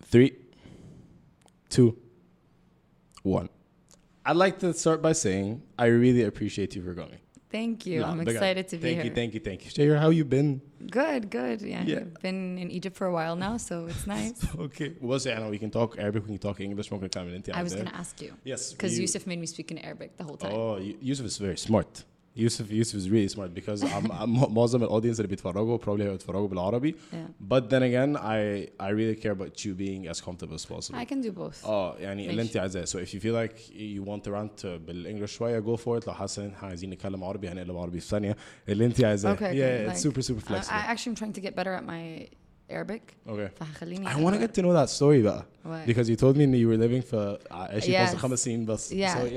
3, 2, 1. I'd like to start by saying I really appreciate you for coming. Thank you. I'm excited to be here. Thank you. Shahir, how you been? Good. Yeah. I've been in Egypt for a while now, so it's nice. Okay. Well, we can talk Arabic, we can talk English. I was going to ask you. Yes. Because Yusuf made me speak in Arabic the whole time. Oh, Yusuf is very smart. Yusuf is really smart because معظم الاودينس اللي بيتفرجوا probably هيتفرجوا بالعربي. But then again, I really care about you being as comfortable as possible. I can do both. يعني اللي انت عايزاه. So if you feel like you want to rant بالانجلش شوية, go for it. لو حاسة ان احنا عايزين نتكلم عربي هنقلب عربي في ثانية. اللي انت عايزاه. Okay. Yeah, it's super flexible. I actually am trying to get better at my Arabic. Okay. فهخليني I want to get to know that story بقى. What? Because you told me that you were living for 5 سنين بس.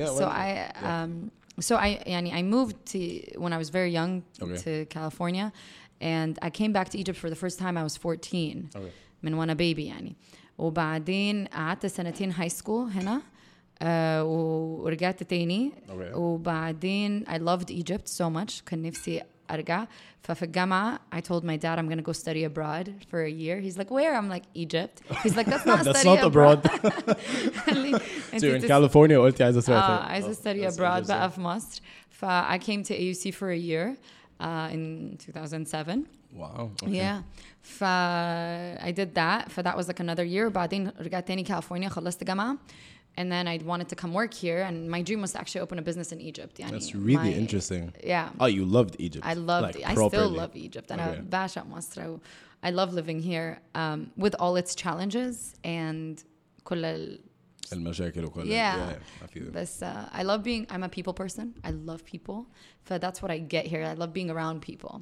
So I moved to when I was very young to California, and I came back to Egypt for the first time. I was 14. من وانا baby يعني. وبعدين قعدت 2 high school هنا. ورجعت تاني. وبعدين I loved Egypt so much. كان نفسي أرجع. ففي الجامعة I told my dad I'm going to go study abroad for a year. He's like, where? I'm like, Egypt. He's like, that's not that's study not abroad. So you're in California قلتي عايزة عايزة study abroad بقى في مصر. I came to AUC for a year in 2007. Wow. Okay. Yeah. I did that. That was like another year. بعدين رجعت تاني California خلصت جامعة. And then I wanted to come work here, and my dream was to actually open a business in Egypt. That's really interesting. Yeah. Oh, you loved Egypt. I loved like, I still love Egypt. And I love living here with all its challenges and كل المشاكل وكل yeah. But I love being, I'm a people person. I love people. That's what I get here. I love being around people.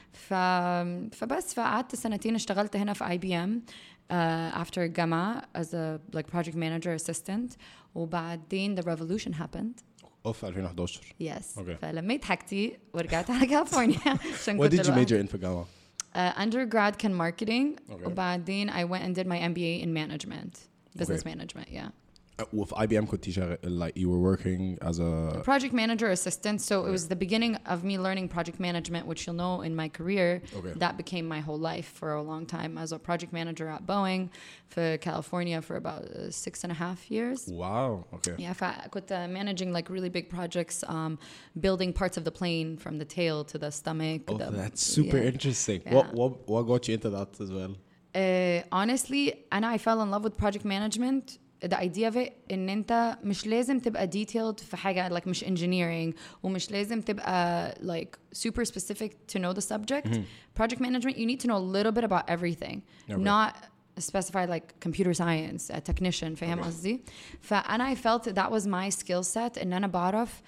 فبس قعدت 2 اشتغلت هنا في IBM. After الجامعة as a like project manager assistant. وبعدين the revolution happened. في 2011. Yes. Okay. فلميت حاجتي ورجعت على كاليفورنيا. What did you major in في الجامعة? Undergrad كان marketing. وبعدين I went and did my MBA in management. Business management, yeah. With IBM كنت like you were working as a project manager assistant, so it was the beginning of me learning project management, which you'll know in my career. That became my whole life for a long time. As a project manager at Boeing for California for about 6.5 years. Wow. Okay. Yeah, كنت managing like really big projects, building parts of the plane from the tail to the stomach. That's super interesting. Yeah. What got you into that as well? Honestly, I fell in love with project management. The idea of it إن أنت مش لازم تبقى detailed في حاجة like مش engineering ومش لازم تبقى like super specific to know the subject. Project management, you need to know a little bit about everything. Not specify like computer science, a technician. فاهم قصدي؟ فأنا I felt that was my skill set إن أنا بعرف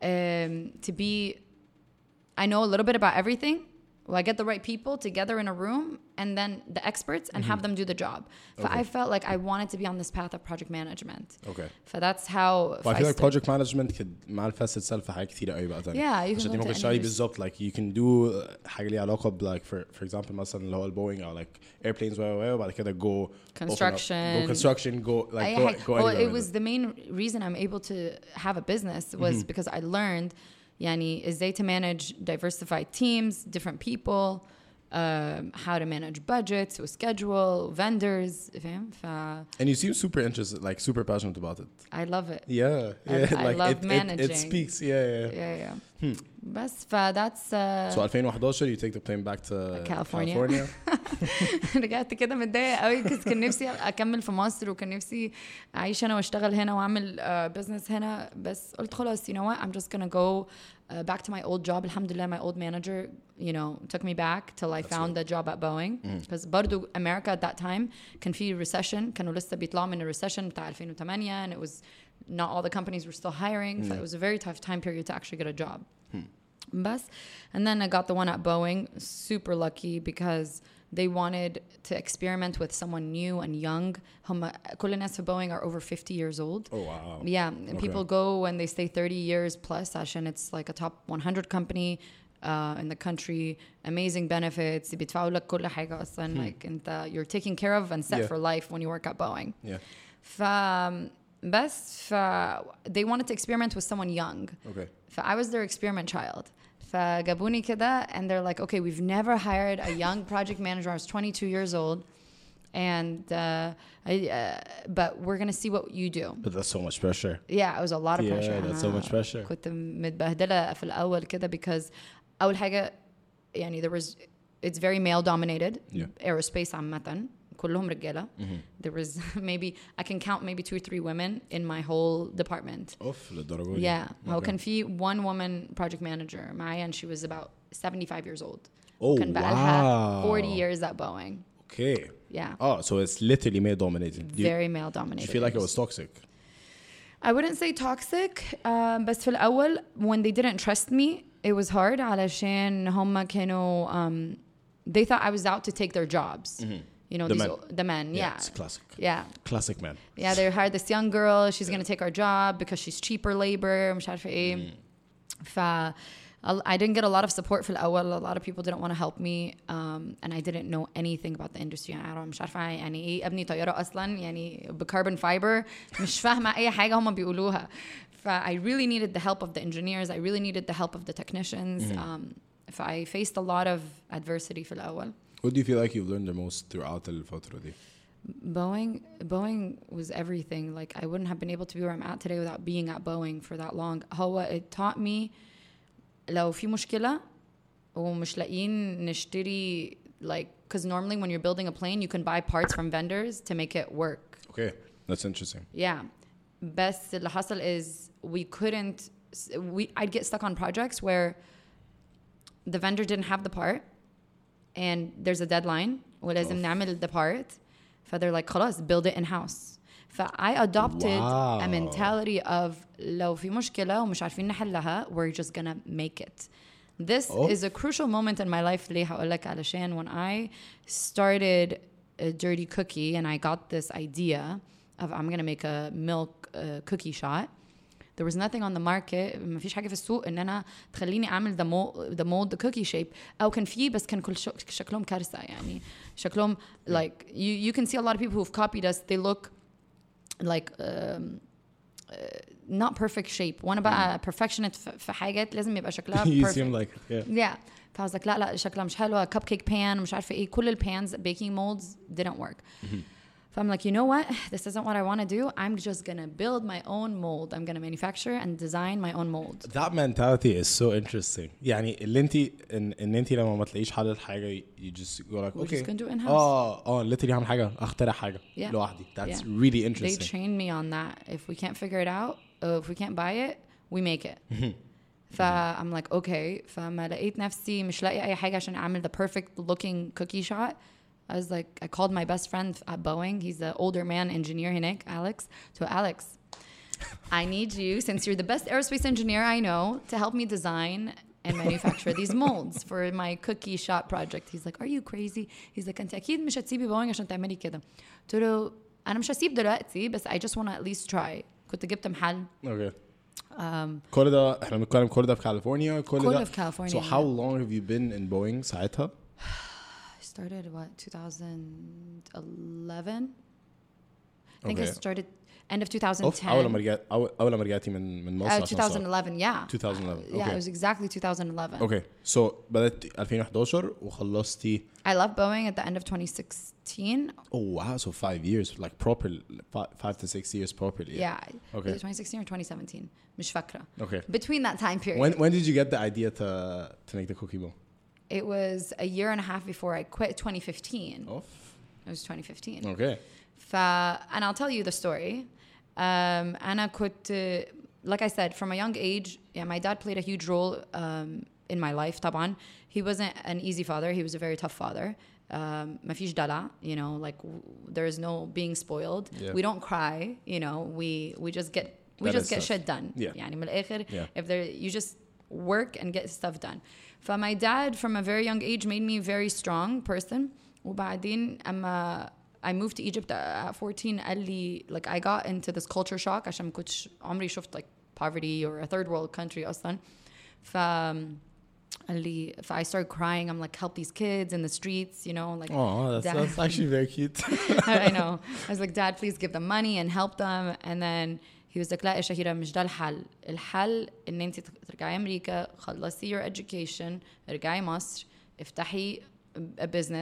to be, I know a little bit about everything. Well, I get the right people together in a room and then the experts and have them do the job. I felt like I wanted to be on this path of project management. Okay. That's how I feel like project management could manifest itself في حاجات كتير قوي بقى تاني. Yeah, you can عشان ممكن تشتغلي بالظبط like you can do حاجة ليها علاقة ب like for example مثلا اللي هو البوينج أو like airplanes وبعد كده go construction go like go well, it was the main reason I'm able to have a business was because I learned يعني ازاي to manage diversified teams, different people, how to manage budgets, schedule, vendors, فاهم؟ And you seem super interested, like super passionate about it. I love it. Yeah. I like love managing. It speaks, yeah. بس that's So 2011 you take the plane back to California. رجعت كده متضايقة قوي because كان نفسي أكمل في مصر وكان نفسي أعيش هنا وأشتغل هنا وأعمل business هنا بس قلت خلاص you know what I'm just gonna go back to my old job. الحمد لله my old manager took me back till I found a job at Boeing because برضو America at that time كان في recession, كانوا لسه بيطلعوا من recession بتاع 2008 and it was not all the companies were still hiring. So it was a very tough time period to actually get a job. Bus. And then I got the one at Boeing, super lucky because they wanted to experiment with someone new and young. كل الناس في Boeing are over 50 years old. Oh wow. Yeah, people go and they stay 30 years plus عشان it's like a top 100 company in the country, amazing benefits. بيدفعوا لك كل حاجة أصلا like you're taken care of and set for life when you work at Boeing. Yeah. بس they wanted to experiment with someone young. Okay. I was their experiment child. فجابوني كده and they're like, okay, we've never hired a young project manager. I was 22 years old. and but we're gonna see what you do. But that's so much pressure. Yeah, it was a lot of pressure. Yeah, that's so much pressure. كنت متبهدلة في الأول كده because أول حاجة يعني it's very male dominated. Aerospace عامة كلهم رجالة. There was maybe I can count maybe 2 or 3 women in my whole department. اوف للدرجة دي. Yeah. هو كان في one woman project manager معايا and she was about 75 years old. Oh, كان بقالها 40 years at Boeing. Okay. Yeah. Oh, so it's literally male dominated. Very male dominated. You feel like it was toxic? I wouldn't say toxic, بس في الأول when they didn't trust me, it was hard علشان هم كانوا they thought I was out to take their jobs. You know, the men. Yeah. It's classic. Yeah. Classic man. Yeah, they hired this young girl. She's going to take our job because she's cheaper labor. مش عارفة إيه. I didn't get a lot of support في الأول. A lot of people didn't want to help me. And I didn't know anything about the industry. يعني مش عارفة يعني إيه أبني طيارة أصلاً يعني بكربون فايبر. مش فاهمة أي حاجة هم بيقولوها. I really needed the help of the engineers. I really needed the help of the technicians. I faced a lot of adversity في الأول. What do you feel like you've learned the most throughout الفترة دي? Boeing was everything. Like I wouldn't have been able to be where I'm at today without being at Boeing for that long. It taught me لو في مشكلة ومش لاقيين نشتري like because normally when you're building a plane you can buy parts from vendors to make it work. Okay, that's interesting. Yeah. بس اللي حصل is I'd get stuck on projects where the vendor didn't have the part and there's a deadline ولازم نعمل the part they're like خلاص build it in-house. I adopted a mentality of لو في مشكلة ومش عارفين نحلها we're just gonna make it. This is a crucial moment in my life ليه هقولك علشان when I started a dirty cookie and I got this idea of I'm gonna make a milk cookie shot. There was nothing on the market. ما فيش حاجة في السوق إن أنا تخليني أعمل the mold the cookie shape. أو كان فيه بس كان كل شكلهم كارثة يعني شكلهم like you can see a lot of people who've copied us. They look like not perfect shape. وأنا بقى perfectionist في حاجات لازم يبقى شكلها perfect. You seem like yeah. فI was like لا شكلها مش حلوة. Cupcake pan مش عارفة إيه كل pans baking molds didn't work. I'm like, you know what? This isn't what I want to do. I'm just going to build my own mold. I'm going to manufacture and design my own mold. That mentality is so interesting. يعني اللي انت لما ما تلاقيش حل الحاجة you just go like, We're okay. just going to do it in-house. literally هعمل حاجة اخترع حاجة لوحدي. That's really interesting. They trained me on that. If we can't figure it out, if we can't buy it, we make it. I'm like, okay. فما لقيت نفسي مش لاقي أي حاجة عشان أعمل the perfect looking cookie shot. I called my best friend at Boeing. He's the older man engineer هناك, Alex. So Alex, I need you, since you're the best aerospace engineer I know, to help me design and manufacture these molds for my cookie shot project. He's like, are you crazy? He's like, أنت أكيد مش هتسيبي Boeing عشان تعملي كده. قلت له أنا مش هسيب دلوقتي بس I just want to at least try. كنت جبت محل. Okay. كل ده احنا بنتكلم كل ده في كاليفورنيا كل في California. So how long have you been in Boeing ساعتها? Started 2011. I think I started end of 2010. أول ما رجعتي من مصر 2011 yeah. 2011 yeah it was exactly 2011. Okay, so بدأت 2011 وخلصتي. I left Boeing at the end of 2016. Oh wow, so 5 years like proper 5 to 6 years properly. Yeah. Okay. 2016 or 2017 مش فاكرة. Okay. Between that time period. When did you get the idea to make the cookie mold? It was a year and a half before I quit. 2015. Oh. It was 2015. Okay. And I'll tell you the story. أنا كنت, like I said, from a young age, yeah, my dad played a huge role in my life. طبعا. He wasn't an easy father. He was a very tough father. ما فيش دلع, you know, like there is no being spoiled. Yeah. We don't cry, you know. We just get shit done. Yeah. يعني من الآخر, yeah. You just work and get stuff done. My dad from a very young age made me a very strong person. وبعدين I moved to Egypt at 14 قال لي like I got into this culture shock عشان ما كنتش عمري شفت like poverty or a third world country أصلا. قال لي I started crying. I'm like, help these kids in the streets, you know, like. Oh, that's actually very cute. I know. I was like, Dad, please give them money and help them. And then he was like, لا يا شهيرة مش ده الحل. الحل إن أنت ترجعي أمريكا خلصي your education ارجعي مصر افتحي a business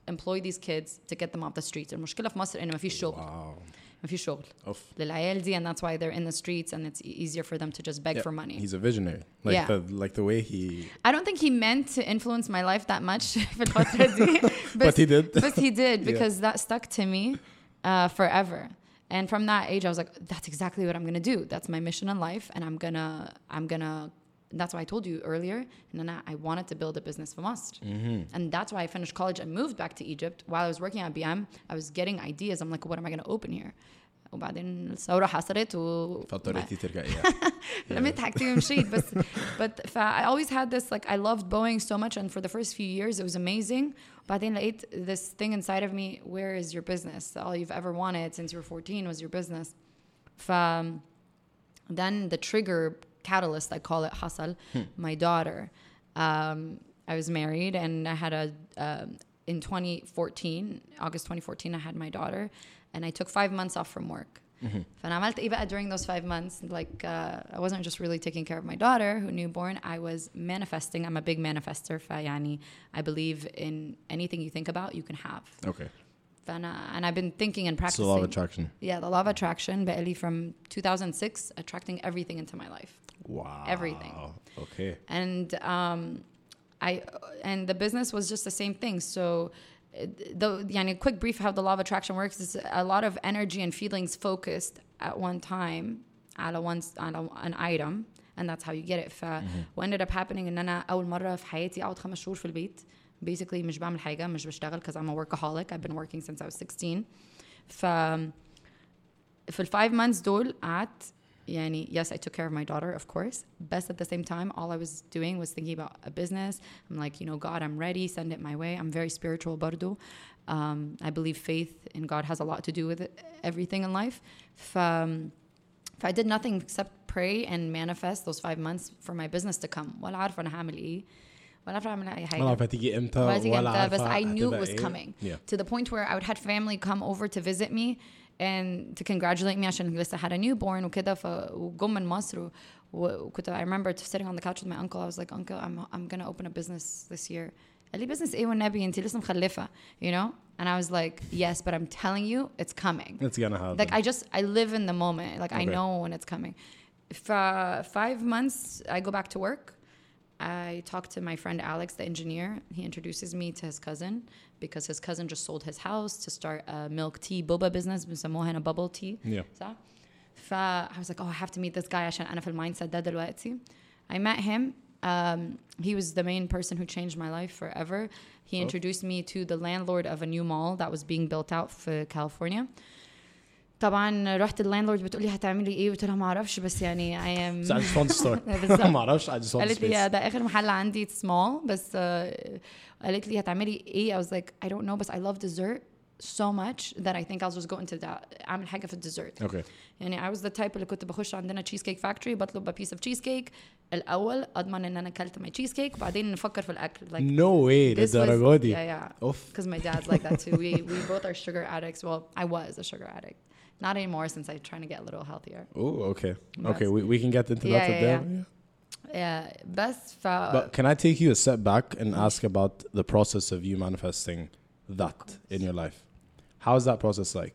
employ these kids to get them off the streets. المشكلة في مصر إنه ما فيش شغل. ما فيش شغل. للعيال دي, and that's why they're in the streets and it's easier for them to just beg for money. He's a visionary. Like the way he... I don't think he meant to influence my life that much في الفترة دي. But he did. But he did because that stuck to me forever. And from that age, I was like, that's exactly what I'm going to do. That's my mission in life. And I'm gonna, that's why I told you earlier, and I wanted to build a business for Must. And that's why I finished college and moved back to Egypt. While I was working at BM, I was getting ideas. I'm like, what am I going to open here? وبعدين الثورة حصلت فاضطريتي ترجعي. لميت حاجتي ومشيت بس but I always had this like I loved Boeing so much and for the first few years it was amazing. بعدين لقيت this thing inside of me, where is your business? All you've ever wanted since you were 14 was your business. Then the trigger catalyst, I call it, حصل. My daughter. I was married and I had in 2014, August 2014, I had my daughter. And I took 5 months off from work. فأنا عملت إيه بقى during those 5 months? Like I wasn't just really taking care of my daughter who newborn. I was manifesting. I'm a big manifester. فيعني I believe in anything you think about, you can have. Okay. And I've been thinking and practicing. It's the law of attraction. Yeah, the law of attraction. بقالي from 2006, attracting everything into my life. Wow. Everything. Okay. And and the business was just the same thing. So. A quick brief how the law of attraction works is a lot of energy and feelings focused at one time on an item, and that's how you get it. What ended up happening إن أنا أول مرة في حياتي أقعد 5 شهور في البيت basically مش بعمل حاجة, مش بشتغل because I'm a workaholic. I've been working since I was 16. في 5 months دول قعدت yes, I took care of my daughter, of course. But at the same time, all I was doing was thinking about a business. I'm like, God, I'm ready. Send it my way. I'm very spiritual, bardo. I believe faith in God has a lot to do with everything in life. I did nothing except pray and manifest those 5 months for my business to come. ولا عارفة أنا هعمل إيه. ولا عارفة أعمل أي حاجة. ولا عارفة تيجي إمتى. ولا عارفة. But I knew it was coming. To the point where I would have family come over to visit me. And to congratulate me عشان لسه had a newborn وكده وجم من مصر وكنت I remember sitting on the couch with my uncle. I was like, Uncle, I'm gonna open a business this year. قال لي business إيه والنبي أنتي لسه مخلفة, And I was like, yes, but I'm telling you, it's coming. It's gonna happen. Like I live in the moment. Like I know when it's coming. For 5 months, I go back to work. I talked to my friend Alex, the engineer. He introduces me to his cousin because his cousin just sold his house to start a milk tea boba business. بنسموها هنا bubble tea. Yeah. I was like, oh, I have to meet this guy عشان أنا في المindset ده دلوقتي. I met him. He was the main person who changed my life forever. He introduced me to the landlord of a new mall that was being built out for California. طبعا رحت اللاندلورد بتقولي هتعملي ايه قلت لها ما اعرفش بس I am I just want to start ما اعرفش I just want to قالت لي ده اخر محل عندي it's small بس قالت لي هتعملي ايه I was like I don't know but I love dessert so much that I think I'll just go into that اعمل حاجه في الديزرت. Okay. I was the type اللي كنت بخش عندنا تشيز كيك فاكتوري بطلب a piece of cheesecake الاول اضمن ان انا اكلت my cheesecake وبعدين نفكر في الاكل like no way للدرجه دي. yeah because my dad's like that too. we both are sugar addicts. Well, I was a sugar addict. Not anymore since I'm trying to get a little healthier. Oh, okay. Okay, we can get into that today. Yeah. But can I take you a step back and ask about the process of you manifesting that in your life? How is that process like?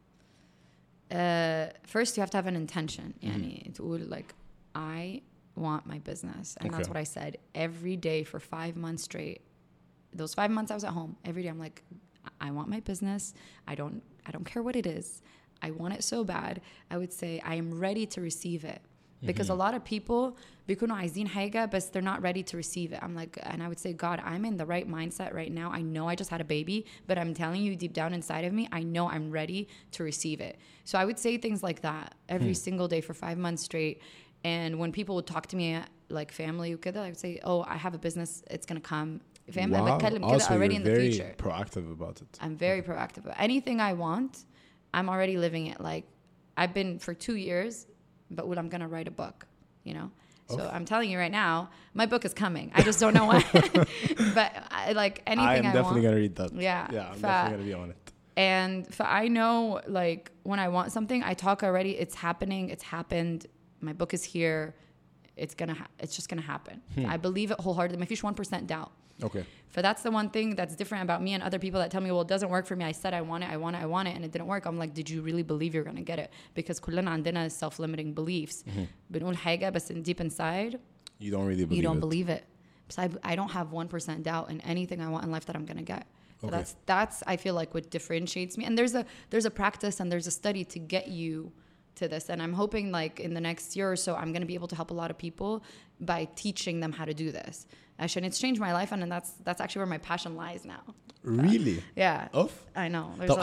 First, you have to have an intention. تقول like, I want my business. And that's what I said. Every day for 5 months straight. Those 5 months I was at home. Every day I'm like, I want my business. I don't care what it is. I want it so bad. I would say I am ready to receive it. Because a lot of people بيكونوا عايزين حاجة but they're not ready to receive it. I'm like, and I would say, God, I'm in the right mindset right now. I know I just had a baby, but I'm telling you deep down inside of me, I know I'm ready to receive it. So I would say things like that every single day for 5 months straight. And when people would talk to me like family وكده, I would say, oh, I have a business. It's going to come. Wow. Also, already you're in the very future. proactive about it. I'm very proactive. Anything I want, I'm already living it. Like I've been for 2 years, but I'm going to write a book, So I'm telling you right now, my book is coming. I just don't know when. But like anything I am definitely going to read that. Yeah. Yeah, I'm definitely going to be on it. And I know like when I want something, I talk already. It's happening. It's happened. My book is here. It's just going to happen. I believe it wholeheartedly. ما فيش 1% doubt. Okay. So that's the one thing that's different about me and other people that tell me, well, it doesn't work for me. I said I want it, and it didn't work. I'm like, did you really believe you're going to get it? Because كلنا عندنا self-limiting beliefs. بنقول حاجة بس deep inside You don't really believe you don't it. believe it. So I don't have 1% doubt in anything I want in life that I'm going to get. So that's I feel like what differentiates me. And there's a practice and there's a study to get you to this. And I'm hoping like in the next year or so, I'm going to be able to help a lot of people by teaching them how to do this. Actually, it's changed my life, and that's actually where my passion lies now. Really? Yeah. Oof. I know. So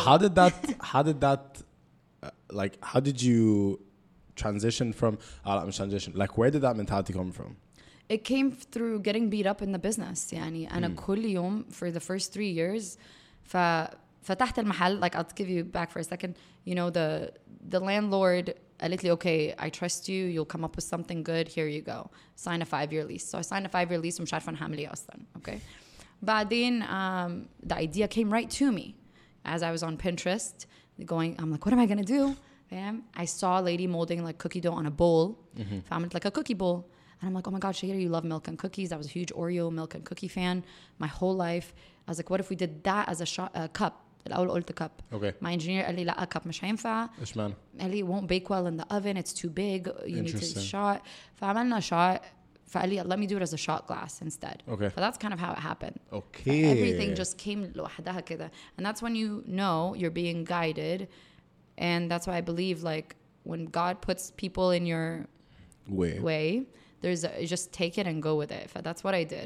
how did you transition from, like where did that mentality come from? It came through getting beat up in the business. يعني أنا كل يوم for the first 3 years فتحت المحل. Like I'll give you back for a second. You know, the landlord قالت لي, okay, I trust you. You'll come up with something good. Here you go. Sign a 5-year lease. So I signed a 5-year lease ومش عارفة أنا هعمل إيه أصلاً. Okay. بعدين the idea came right to me as I was on Pinterest going, I'm like, what am I going to do? I saw a lady molding like cookie dough on a bowl. فعملت like a cookie bowl. And I'm like, oh my God, Shahira, you love milk and cookies. I was a huge Oreo milk and cookie fan my whole life. I was like, what if we did that as a cup? الأول قلت cup. Okay. My engineer قال لي لا cup مش هينفع. إيش معنى؟ قال لي it won't bake well in the oven. It's too big. You need to shot. فعملنا shot. فقال لي let me do it as a shot glass instead. Okay. So that's kind of how it happened. Okay. Everything just came لوحدها كده. And that's when you know you're being guided. And that's why I believe like when God puts people in your way you just take it and go with it. That's what I did.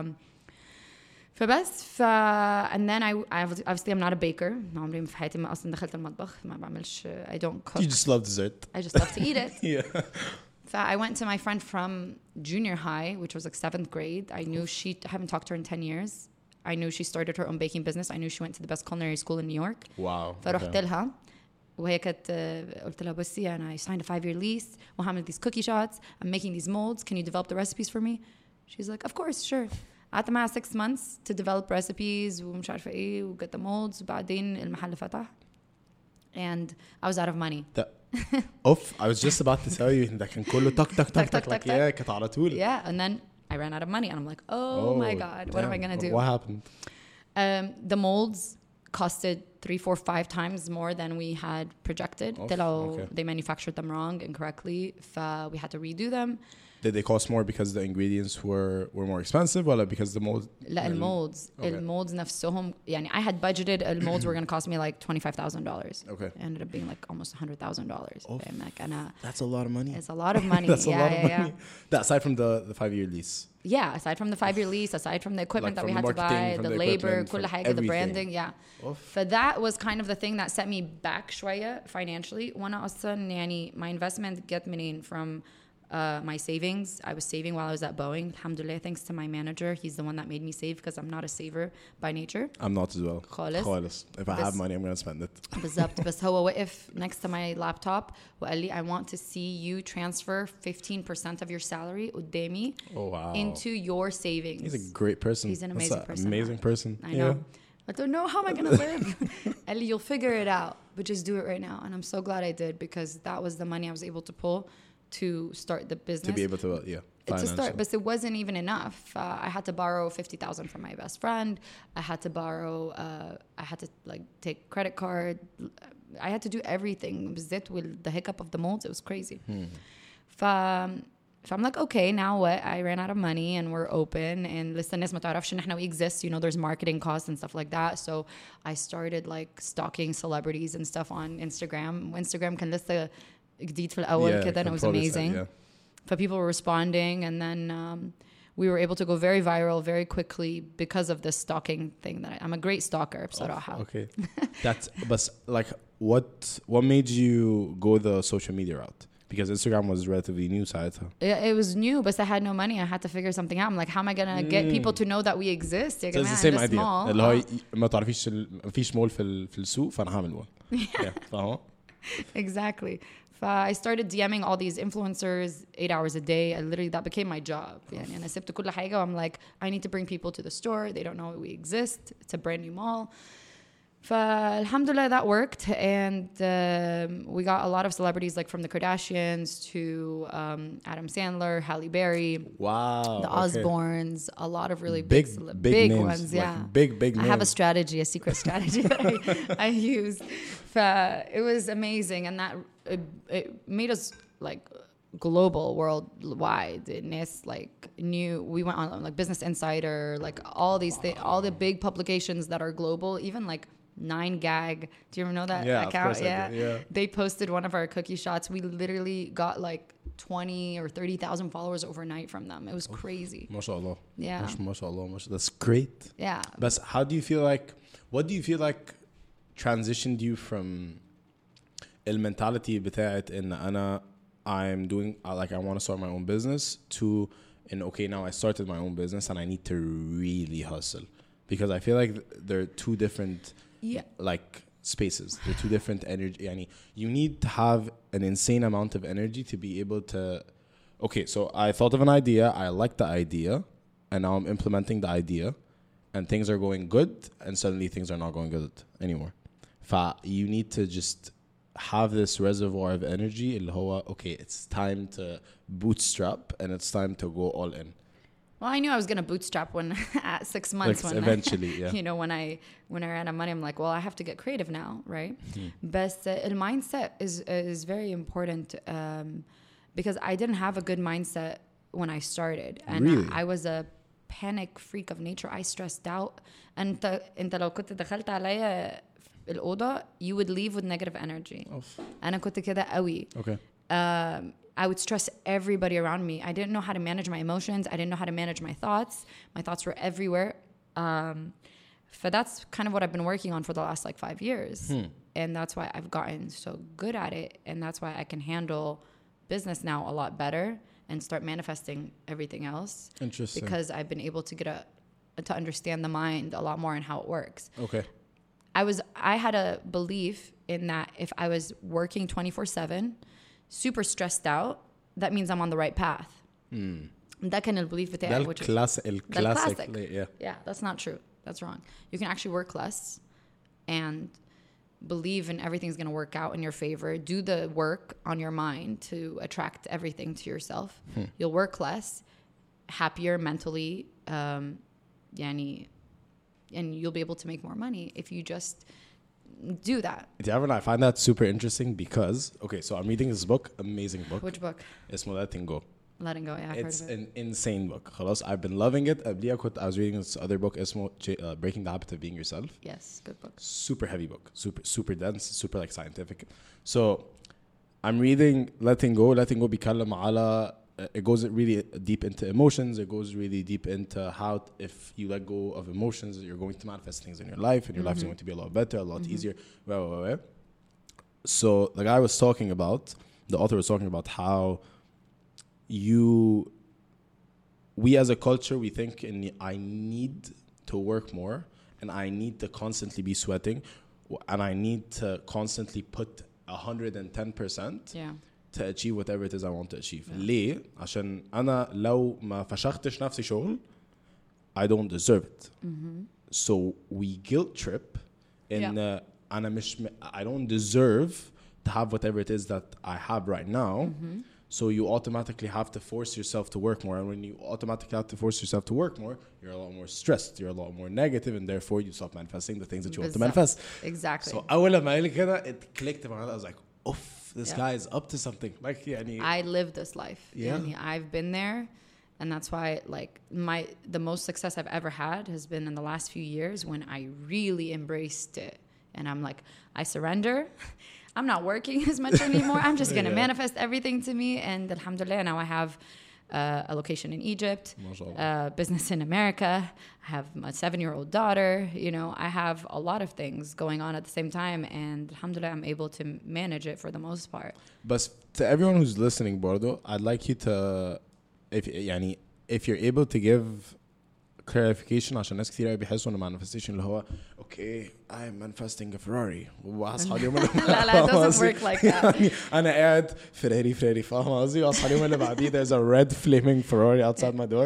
And then I obviously I'm not a baker. عمري في حياتي ما أصلا دخلت المطبخ. ما بعملش. I don't cook. You just love dessert. I just love to eat it. Yeah. I went to my friend from junior high, which was like 7th grade. I knew I haven't talked to her in 10 years. I knew she started her own baking business. I knew she went to the best culinary school in New York. Wow. فرحت لها وهي كانت قلت لها بصي أنا I signed a 5-year lease وهعمل these cookie shots. I'm making these molds. Can you develop the recipes for me? She's like, of course, sure. قعدت معها 6 months to develop recipes ومش عارفة إيه و get the molds. وبعدين المحل فتح. And I was out of money. I was just about to tell you that كان كله تك like yeah كانت على طول. Yeah, and then I ran out of money and I'm like, oh my God, what am I going to do? What happened? The molds costed 3, 4, 5 times more than we had projected. Okay. They manufactured them wrong incorrectly. We had to redo them. Did they cost more because the ingredients were more expensive or because the molds? لا المolds. المolds نفسهم يعني I had budgeted molds were going to cost me like $25,000. Okay. It ended up being like almost $100,000. That's a lot of money. It's a lot of money. That's a lot of money. That aside from the 5-year lease. Yeah, aside from the 5-year lease, aside from the equipment that we had to buy, the labor, كل حاجة, the branding, yeah. So that was kind of the thing that set me back شوية financially. وأنا أصلاً يعني my investment get منين from my savings. I was saving while I was at Boeing. Alhamdulillah, thanks to my manager. He's the one that made me save because I'm not a saver by nature. I'm not as well. خالص. If I have money, I'm going to spend it. بالضبط. بس هو وقف next to my laptop وقال لي I want to see you transfer 15% of your salary قدامي into your savings. He's a great person. He's an amazing person. Amazing person. I know. I don't know how am I going to live. قال لي you'll figure it out, but just do it right now. And I'm so glad I did because that was the money I was able to pull to start the business. To be able to, to start, but it wasn't even enough. I had to borrow $50,000 from my best friend. I had to borrow. I had to like take credit card. I had to do everything. بالذات with the hiccup of the molds, it was crazy. So I'm like, okay, now what? I ran out of money and we're open. And listen, الناس ما تعرفش إن إحنا we exist. You know, there's marketing costs and stuff like that. So I started like stalking celebrities and stuff on Instagram. Instagram كان لسه جديد في الأول كده, and it was amazing. But people were responding, and then we were able to go very viral very quickly because of this stalking thing. That I'm a great stalker بصراحة. Okay. But like what made you go the social media route? Because Instagram was relatively new ساعتها. It was new, but I had no money. I had to figure something out. I'm like, how am I gonna get people to know that we exist? So it's the same idea. اللي هو ما تعرفيش مفيش مول في السوق فأنا هعمل مول. فاهمة؟ Exactly. I started DMing all these influencers 8 hours a day. That became my job. يعني أنا سبت كل حاجة. I'm like, I need to bring people to the store. They don't know we exist. It's a brand new mall. فالحمدulillah that worked, and we got a lot of celebrities like from the Kardashians to Adam Sandler, Halle Berry, wow, the Osbournes, a lot of really big names, ones, like yeah. Big names. I have a strategy, a secret strategy that I use. It was amazing, and that it made us like global, worldwide. Nes like knew, we went on like Business Insider, like all these all the big publications that are global, even like 9gag. Do you ever know that account? Yeah. They posted one of our cookie shots. We literally got like 20 or 30,000 followers overnight from them. It was crazy. MashaAllah. Yeah. MashaAllah. That's great. Yeah. But how do you feel like, what do you feel like transitioned you from المنtality بتاعت إن أنا I'm doing like I want to start my own business to okay, now I started my own business and I need to really hustle, because I feel like they're two different like spaces. They're two different energy. Yani, you need to have an insane amount of energy to be able to okay, so I thought of an idea, I like the idea, and now I'm implementing the idea, and things are going good, and suddenly things are not going good anymore. You need to just have this reservoir of energy اللي هو okay, it's time to bootstrap and it's time to go all in. Well, I knew I was going to bootstrap when at 6 months, like when eventually yeah. You know, when I ran out of money, I'm like, well, I have to get creative now, right? But the mindset is very important, because I didn't have a good mindset when I started, and really? I was a panic freak of nature. I stressed out, and انت لو كنت دخلت عليا الأوضة, you would leave with negative energy. أنا كنت كده قوي. Okay. I would stress everybody around me. I didn't know how to manage my emotions. I didn't know how to manage my thoughts. My thoughts were everywhere. So that's kind of what I've been working on for the last like 5 years. And that's why I've gotten so good at it. And that's why I can handle business now a lot better and start manifesting everything else. Interesting. Because I've been able to to understand the mind a lot more and how it works. Okay. I had a belief in that if I was working 24/7, super stressed out, that means I'm on the right path. ده كان البelief بتاعي. الكلاسيك. Yeah, that's not true. That's wrong. You can actually work less and believe in everything's going to work out in your favor. Do the work on your mind to attract everything to yourself. You'll work less, happier mentally, and you'll be able to make more money if you just do that. I find that super interesting because, okay, so I'm reading this book, amazing book. Which book? It's Letting Go. Letting Go, yeah, I've it's heard of it. an insane book. خلاص, I've been loving it. I was reading this other book, اسمه Breaking the Habit of Being Yourself. Yes, good book. Super heavy book, super dense, super like scientific. So I'm reading Letting Go. Letting Go بيتكلم على it goes really deep into emotions. It goes really deep into how if you let go of emotions, you're going to manifest things in your life, and your life is going to be a lot better, a lot easier. So the guy was talking about, the author was talking about how we as a culture, we think I need to work more, and I need to constantly be sweating, and I need to constantly put 110%. Yeah. To achieve whatever it is I want to achieve. ليه؟ عشان أنا لو ما فشختش نفسي شغل, I don't deserve it. So we guilt trip in أنا مش I don't deserve to have whatever it is that I have right now. So you automatically have to force yourself to work more, and when you automatically have to force yourself to work more, you're a lot more stressed, you're a lot more negative, and therefore you stop manifesting the things that you want to manifest. Exactly. So أول ما قال كده, it clicked in my head. I was like, this guy is up to something. Like, I live this life. Yeah. I've been there, and that's why like the most success I've ever had has been in the last few years when I really embraced it. And I'm like, I surrender. I'm not working as much anymore. I'm just going to manifest everything to me. And alhamdulillah, now I have a location in Egypt, business in America. I have my 7-year-old daughter. You know, I have a lot of things going on at the same time. And alhamdulillah, I'm able to manage it for the most part. But to everyone who's listening, Bordo, I'd like you to, if you're able to give clarification, عشان ناس كثير بيحسوا إن manifestation اللي هو okay, I'm manifesting a Ferrari. وأصحى اليوم اللي لا, it doesn't work like that. أنا قاعد فراري فاهم قصدي؟ وأصحى اليوم اللي بعديه there's a red flaming Ferrari outside my door.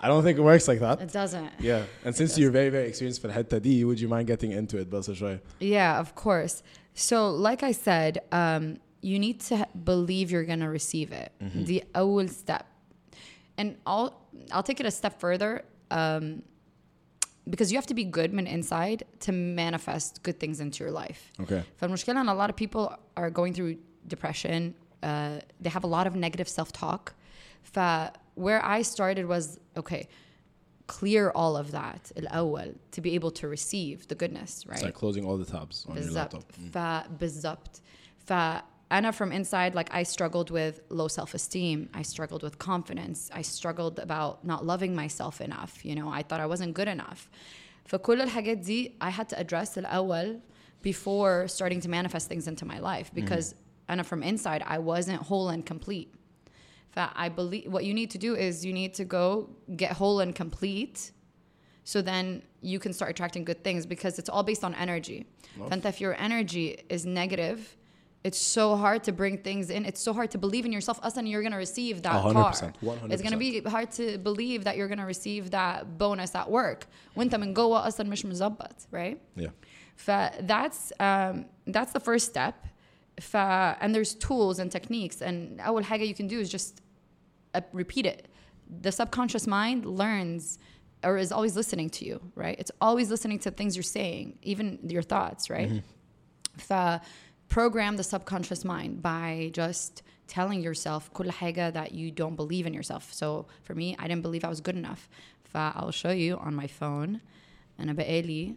I don't think it works like that. It doesn't. Yeah. And since you're very, very experienced في الحتة دي, would you mind getting into it بس شوية? Yeah, of course. So, like I said, you need to believe you're going to receive it. The أول step. And I'll take it a step further, because you have to be good من inside to manifest good things into your life. Okay. فالمشكلة إن a lot of people are going through depression. They have a lot of negative self-talk. Where I started was, okay, clear all of that الأول to be able to receive the goodness, right? It's like closing all the tabs on your laptop. بالضبط. فأنا from inside, like, I struggled with low self-esteem. I struggled with confidence. I struggled about not loving myself enough. You know, I thought I wasn't good enough. فكل الحاجات دي I had to address الأول before starting to manifest things into my life, because أنا from inside I wasn't whole and complete. I believe what you need to do is you need to go get whole and complete, so then you can start attracting good things, because it's all based on energy. فأنت if your energy is negative, it's so hard to bring things in. It's so hard to believe in yourself. أصلاً you're going to receive that 100%, car. 100%. It's going to be hard to believe that you're going to receive that bonus at work. وانت من جوه أصلاً مش مزبط, right? Yeah. That's the first step. And there's tools and techniques. And أول حاجة you can do is just repeat it. The subconscious mind learns or is always listening to you, right? It's always listening to things you're saying, even your thoughts, right? Program the subconscious mind by just telling yourself كل حاجة that you don't believe in yourself. So for me, I didn't believe I was good enough. I'll show you on my phone. أنا بقالي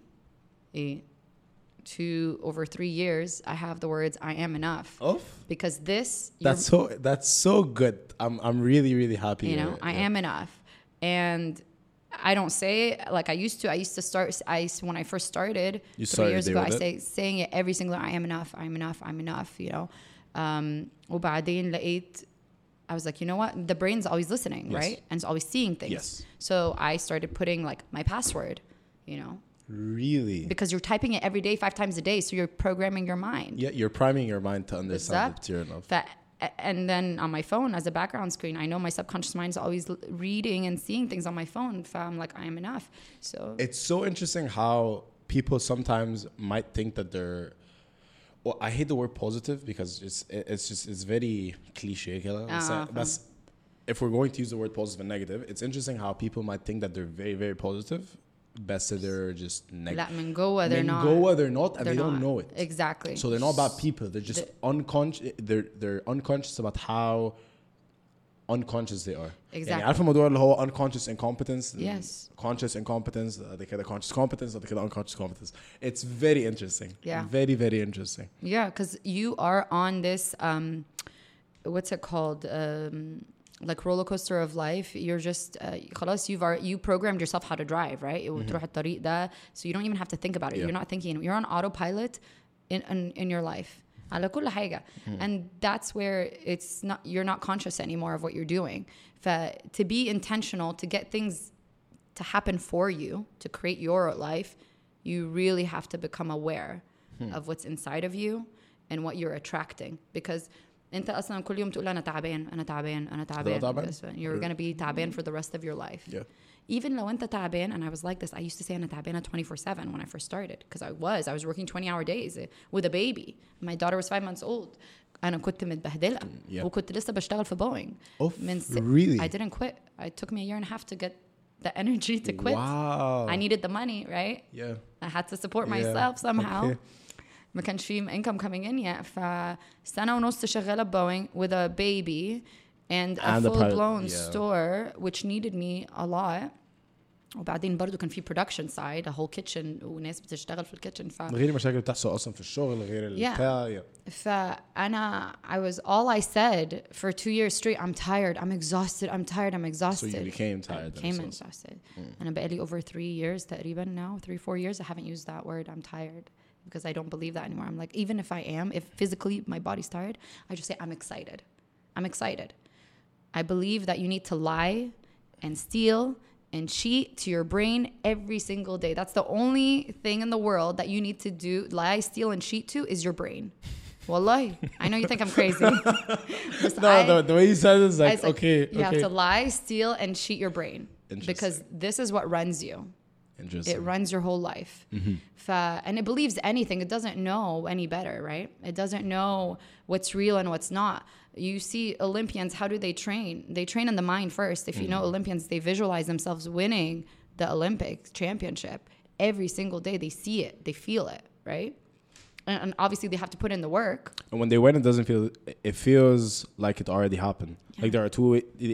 over 3 years, I have the words I am enough. Because that's so good. I'm really, really happy. You know, I am enough. And I don't say it like I used to. I used to start, when I first started 3 years ago, I saying it every single, I am enough, I'm enough, I'm enough, you know. وبعدين لقيت, I was like, you know what? The brain's always listening, yes. right? And it's always seeing things. Yes. So I started putting like my password, you know. Really? Because you're typing it every day, 5 times a day. So you're programming your mind. Yeah, you're priming your mind to understand that you're enough. And then on my phone as a background screen, I know my subconscious mind is always reading and seeing things on my phone. I'm like, I am enough. So it's so interesting how people sometimes might think that they're, well, I hate the word positive because it's very cliche. But if we're going to use the word positive and negative, it's interesting how people might think that they're very, very positive. Best they're just negative. من جوه they're not. They're not, and they don't know it. Exactly. So they're not bad people. They're just unconscious. They're unconscious about how unconscious they are. Exactly. يعني عارفة الموضوع اللي هو unconscious incompetence. Yes. Conscious incompetence. بعد كده conscious competence. بعد كده unconscious competence. It's very interesting. Yeah. Very, very interesting. Yeah, because you are on this what's it called? Like roller coaster of life. You're just خلاص you programmed yourself how to drive, right? وتروح الطريق ده, so you don't even have to think about it. Yeah. You're not thinking. You're on autopilot in your life. على كل حاجة. And that's where you're not conscious anymore of what you're doing. To be intentional, to get things to happen for you, to create your life, you really have to become aware of what's inside of you and what you're attracting. Because انت اصلا كل يوم تقول انا تعبان انا تعبان انا تعبان. You're going to be تعبان for the rest of your life. Yeah. Even لو انت تعبان, and I was like this, I used to say انا تعبانة 24/7 when I first started, because I was working 20-hour days with a baby. My daughter was 5 months old. أنا كنت متبهدلة. وكنت لسه بشتغل في Boeing. Really? I didn't quit. It took me a year and a half to get the energy to quit. Wow. I needed the money, right? Yeah. I had to support myself somehow. Okay. ما كانش في income coming in yet. فسنة ونص شغالة Boeing with a baby and a full-blown store, which needed me a lot. وبعدين برضو كان في production side, a whole kitchen, وناس بتشتغل في الكيتشن. غير المشاكل بتحصل أصلا في الشغل غير البتاع. فأنا all I said for 2 years straight, I'm tired, I'm exhausted, I'm tired, I'm exhausted. So you became tired. I became exhausted. أنا بقالي over 3 years تقريبا now, 3-4 years, I haven't used that word, I'm tired. Because I don't believe that anymore. I'm like, even if I am, if physically my body's tired, I just say, I'm excited. I'm excited. I believe that you need to lie and steal and cheat to your brain every single day. That's the only thing in the world that you need to do, lie, steal, and cheat to, is your brain. Wallahi. I know you think I'm crazy. No, the way you said it is like, okay. You have to lie, steal, and cheat your brain. because this is what runs you. Interesting. It runs your whole life. And it believes anything. It doesn't know any better, right? It doesn't know what's real and what's not. You see Olympians, how do they train? They train in the mind first. If you know Olympians, they visualize themselves winning the Olympic championship. Every single day they see it, they feel it, right? And obviously they have to put in the work. And when they win, it feels like it already happened. Like there are two,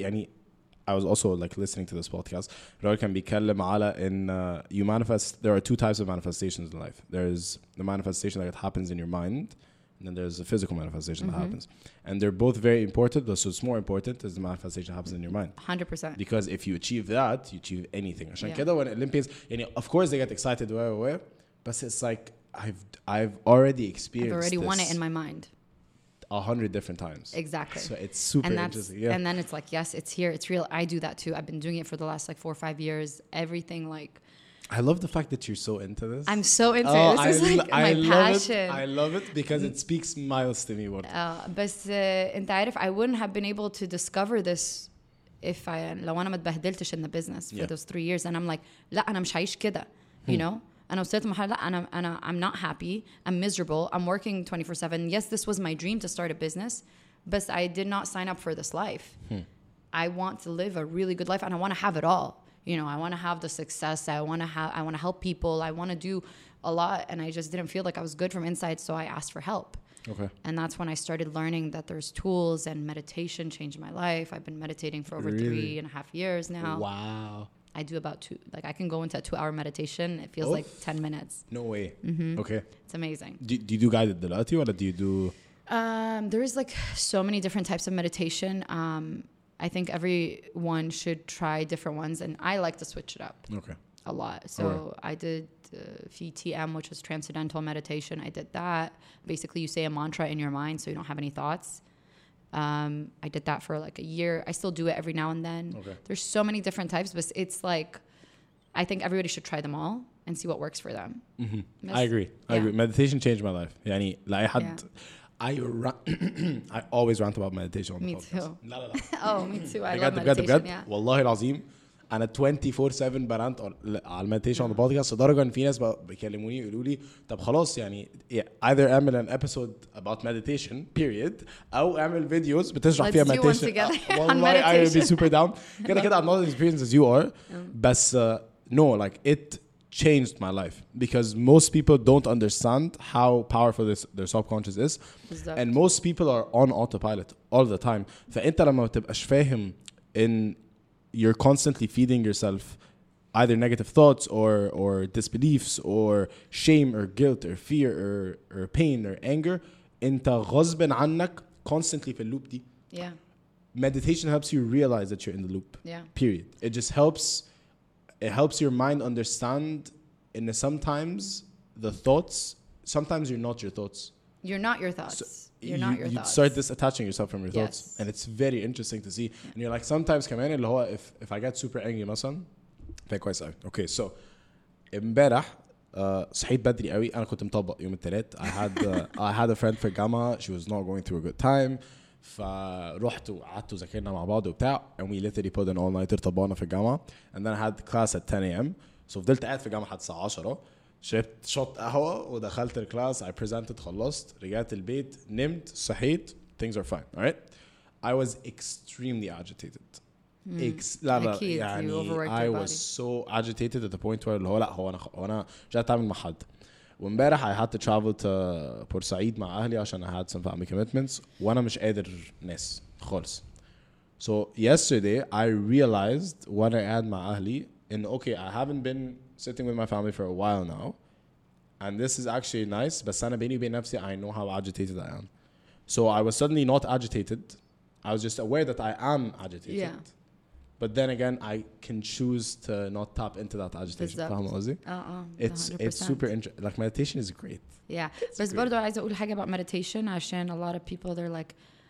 I was also like listening to this podcast. Raul can بيتكلم على in you manifest. There are two types of manifestations in life. There's the manifestation that happens in your mind, and then there's the physical manifestation that happens. And they're both very important. So it's more important is the manifestation that happens in your mind. 100%. Because if you achieve that, you achieve anything. عشان كده when Olympians, of course they get excited, but it's like I've already experienced. I've already this won it in my mind 100 different times. Exactly. So it's super interesting. Yeah. And then it's like, yes, it's here, it's real. I do that too. I've been doing it for the last like 4 or 5 years. Everything like. I love the fact that you're so into this. I'm so into it. This is like my passion. I love it because it speaks miles to me. بس انت عارف, I wouldn't have been able to discover this if لو أنا ما اتبهدلتش in the business for those 3 years. And I'm like, لا أنا مش عايش كده, you know. أنا وصلت لمرحلة لا I'm not happy. I'm miserable. I'm working 24/7. Yes, this was my dream to start a business, but I did not sign up for this life. I want to live a really good life, and I want to have it all. You know, I want to have the success. I want to help people. I want to do a lot, and I just didn't feel like I was good from inside, so I asked for help. Okay. And that's when I started learning that there's tools, and meditation changed my life. I've been meditating for over 3.5 years now. Wow. I do about 2, like I can go into a 2-hour meditation. It feels like 10 minutes. No way. Okay. It's amazing. Do you do guided دلوقتي or do you do? There's like so many different types of meditation. I think everyone should try different ones, and I like to switch it up. Okay. A lot. So I did TM, which was transcendental meditation. I did that. Basically, you say a mantra in your mind so you don't have any thoughts. I did that for like a year. I still do it every now and then. Okay. There's so many different types, but it's like I think everybody should try them all and see what works for them. I agree. Meditation changed my life. يعني لا أحد. I always rant about meditation on the podcast. Me too. لا. Oh, me too. I love meditation. بجد والله العظيم أنا 24/7 برانت على المديتيشن on the podcast لدرجة إن في ناس بيكلموني يقولوا لي طب خلاص يعني either اعمل an episode about meditation period أو اعمل فيديوز بتشرح فيها meditation. والله I will be super down. كده I'm not as experienced as you are. بس no, like it changed my life because most people don't understand how powerful their subconscious is. And most people are on autopilot all the time. فأنت لما تبقاش فاهم in you're constantly feeding yourself either negative thoughts or disbeliefs or shame or guilt or fear or pain or anger انت غصب عنك constantly في اللوب دي. Yeah. Meditation helps you realize that you're in the loop. Yeah. Period. It just helps your mind understand in sometimes the thoughts, sometimes you're not your thoughts. You're not your thoughts. So you're not your you thoughts. start disattaching yourself from your thoughts. Yes. And it's very interesting to see. And you're like, sometimes كمان اللي هو if I get super angry مثلا فهي كويس قوي. Okay, so امبارح صحيت بدري قوي. أنا كنت مطبق يوم الثلاث. I had a friend في الجامعة. She was not going through a good time. فرحت وقعدت وذاكرنا مع بعض وبتاع. And we literally put an all-nighter طبقنا في الجامعة. And then I had class at 10 a.m. So فضلت قاعد في الجامعة لحد الساعة 10. شربت شوت قهوة ودخلت الكلاس. I presented خلصت. رجعت البيت نمت صحيت. Things are fine. All right. I was extremely agitated. لا يعني I was so agitated at the point where اللي هو لا هو أنا مش قادر أتعامل مع حد. وامبارح I had to travel to بورسعيد مع أهلي عشان I had some family commitments وأنا مش قادر ناس خالص. So yesterday I realized when I had مع أهلي in okay I haven't been sitting with my family for a while now and this is actually nice بس أنا بيني وبين نفسي I know how agitated I am. So I was suddenly not agitated. I was just aware that I am agitated. Yeah. But then again, I can choose to not tap into that agitation. فاهم قصدي؟ It's super interesting. Like meditation is great. Yeah. بس برضو عايزة أقول حاجة about meditation عشان a lot of people they're like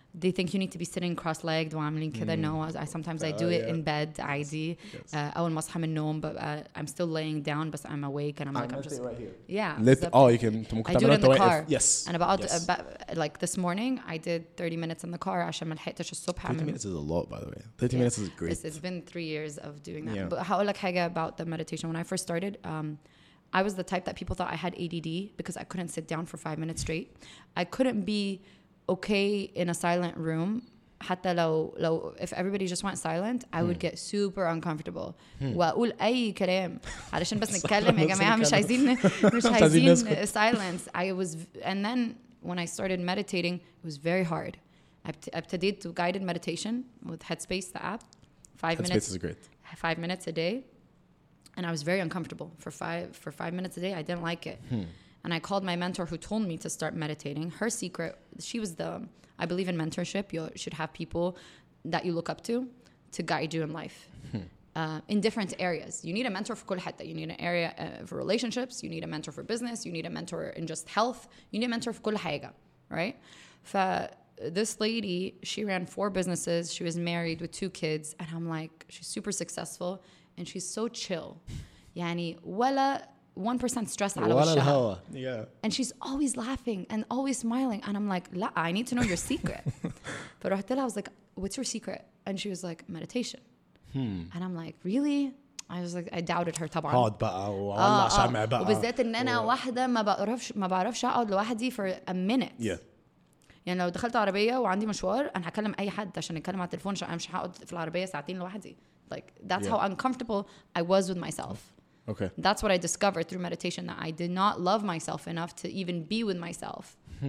they think you need to be sitting cross-legged وعاملين كده. No, sometimes I do it in bed عادي. أول ما أصحى من النوم ببقى I'm still laying down but I'm awake and I'm just right here. yeah. You can I do it in the car. Yes. أنا بقعد like this morning I did 30 minutes in the car عشان ما لحقتش الصبح. 30 minutes is a lot, by the way. 30 minutes is great. It's been 3 years of doing that. Yeah. But هقول لك حاجة about the meditation. When I first started, I was the type that people thought I had ADD because I couldn't sit down for 5 minutes straight. I couldn't be okay in a silent room. حتى لو if everybody just went silent, I would get super uncomfortable. وأقول أي كلام علشان بس نتكلم يا جماعة. مش عايزين silence. And then when I started meditating, it was very hard. ابتديت to guided meditation with Headspace, the app. 5 minutes. Headspace is great. 5 minutes a day. And I was very uncomfortable for 5 minutes a day. I didn't like it. And I called my mentor who told me to start meditating. Her secret, I believe in mentorship. You should have people that you look up to guide you in life. In different areas. You need a mentor for كل حتة. You need an area for relationships. You need a mentor for business. You need a mentor in just health. You need a mentor for كل حاجة. Right? This lady, she ran 4 businesses. She was married with 2 kids. And I'm like, she's super successful. And she's so chill. يعني ولا 1% stress على وشها. Yeah. And she's always laughing and always smiling. And I'm like, لا, I need to know your secret. فرحت لها, I was like, what's your secret? And she was like, meditation. And I'm like, really? I was like, I doubted her طبعا. هاد بقى والله شمع بقى. وبالذات ان انا واحدة ما بعرفش اقعد لوحدي for a minute. Yeah. يعني لو دخلت عربية وعندي مشوار أنا هكلم أي حد عشان نتكلم على التليفون عشان أنا مش هقعد في العربية ساعتين لوحدي. Like that's how uncomfortable I was with myself. Okay. That's what I discovered through meditation, that I did not love myself enough to even be with myself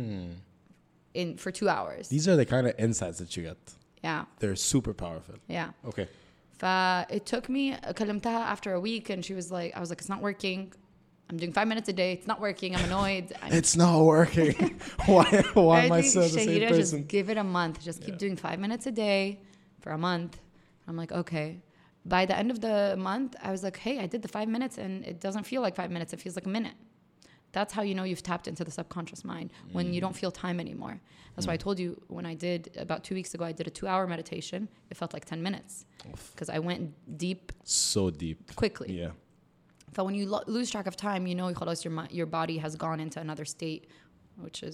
for 2 hours. These are the kind of insights that you get. Yeah. They're super powerful. Yeah. Okay. It took me, كلمتها after a week and she was like, I was like, it's not working. I'm doing 5 minutes a day. It's not working. I'm annoyed. It's not working. Why am I still the same Shahira, person? just give it a month. Just keep doing 5 minutes a day for a month. I'm like, okay. By the end of the month, I was like, hey, I did the 5 minutes and it doesn't feel like 5 minutes. It feels like a minute. That's how you know you've tapped into the subconscious mind, when you don't feel time anymore. That's why I told you when I did, about 2 weeks ago, I did a 2-hour meditation. It felt like 10 minutes because I went deep. So deep. Quickly. Yeah. So when you lose track of time, you know your body has gone into another state, which is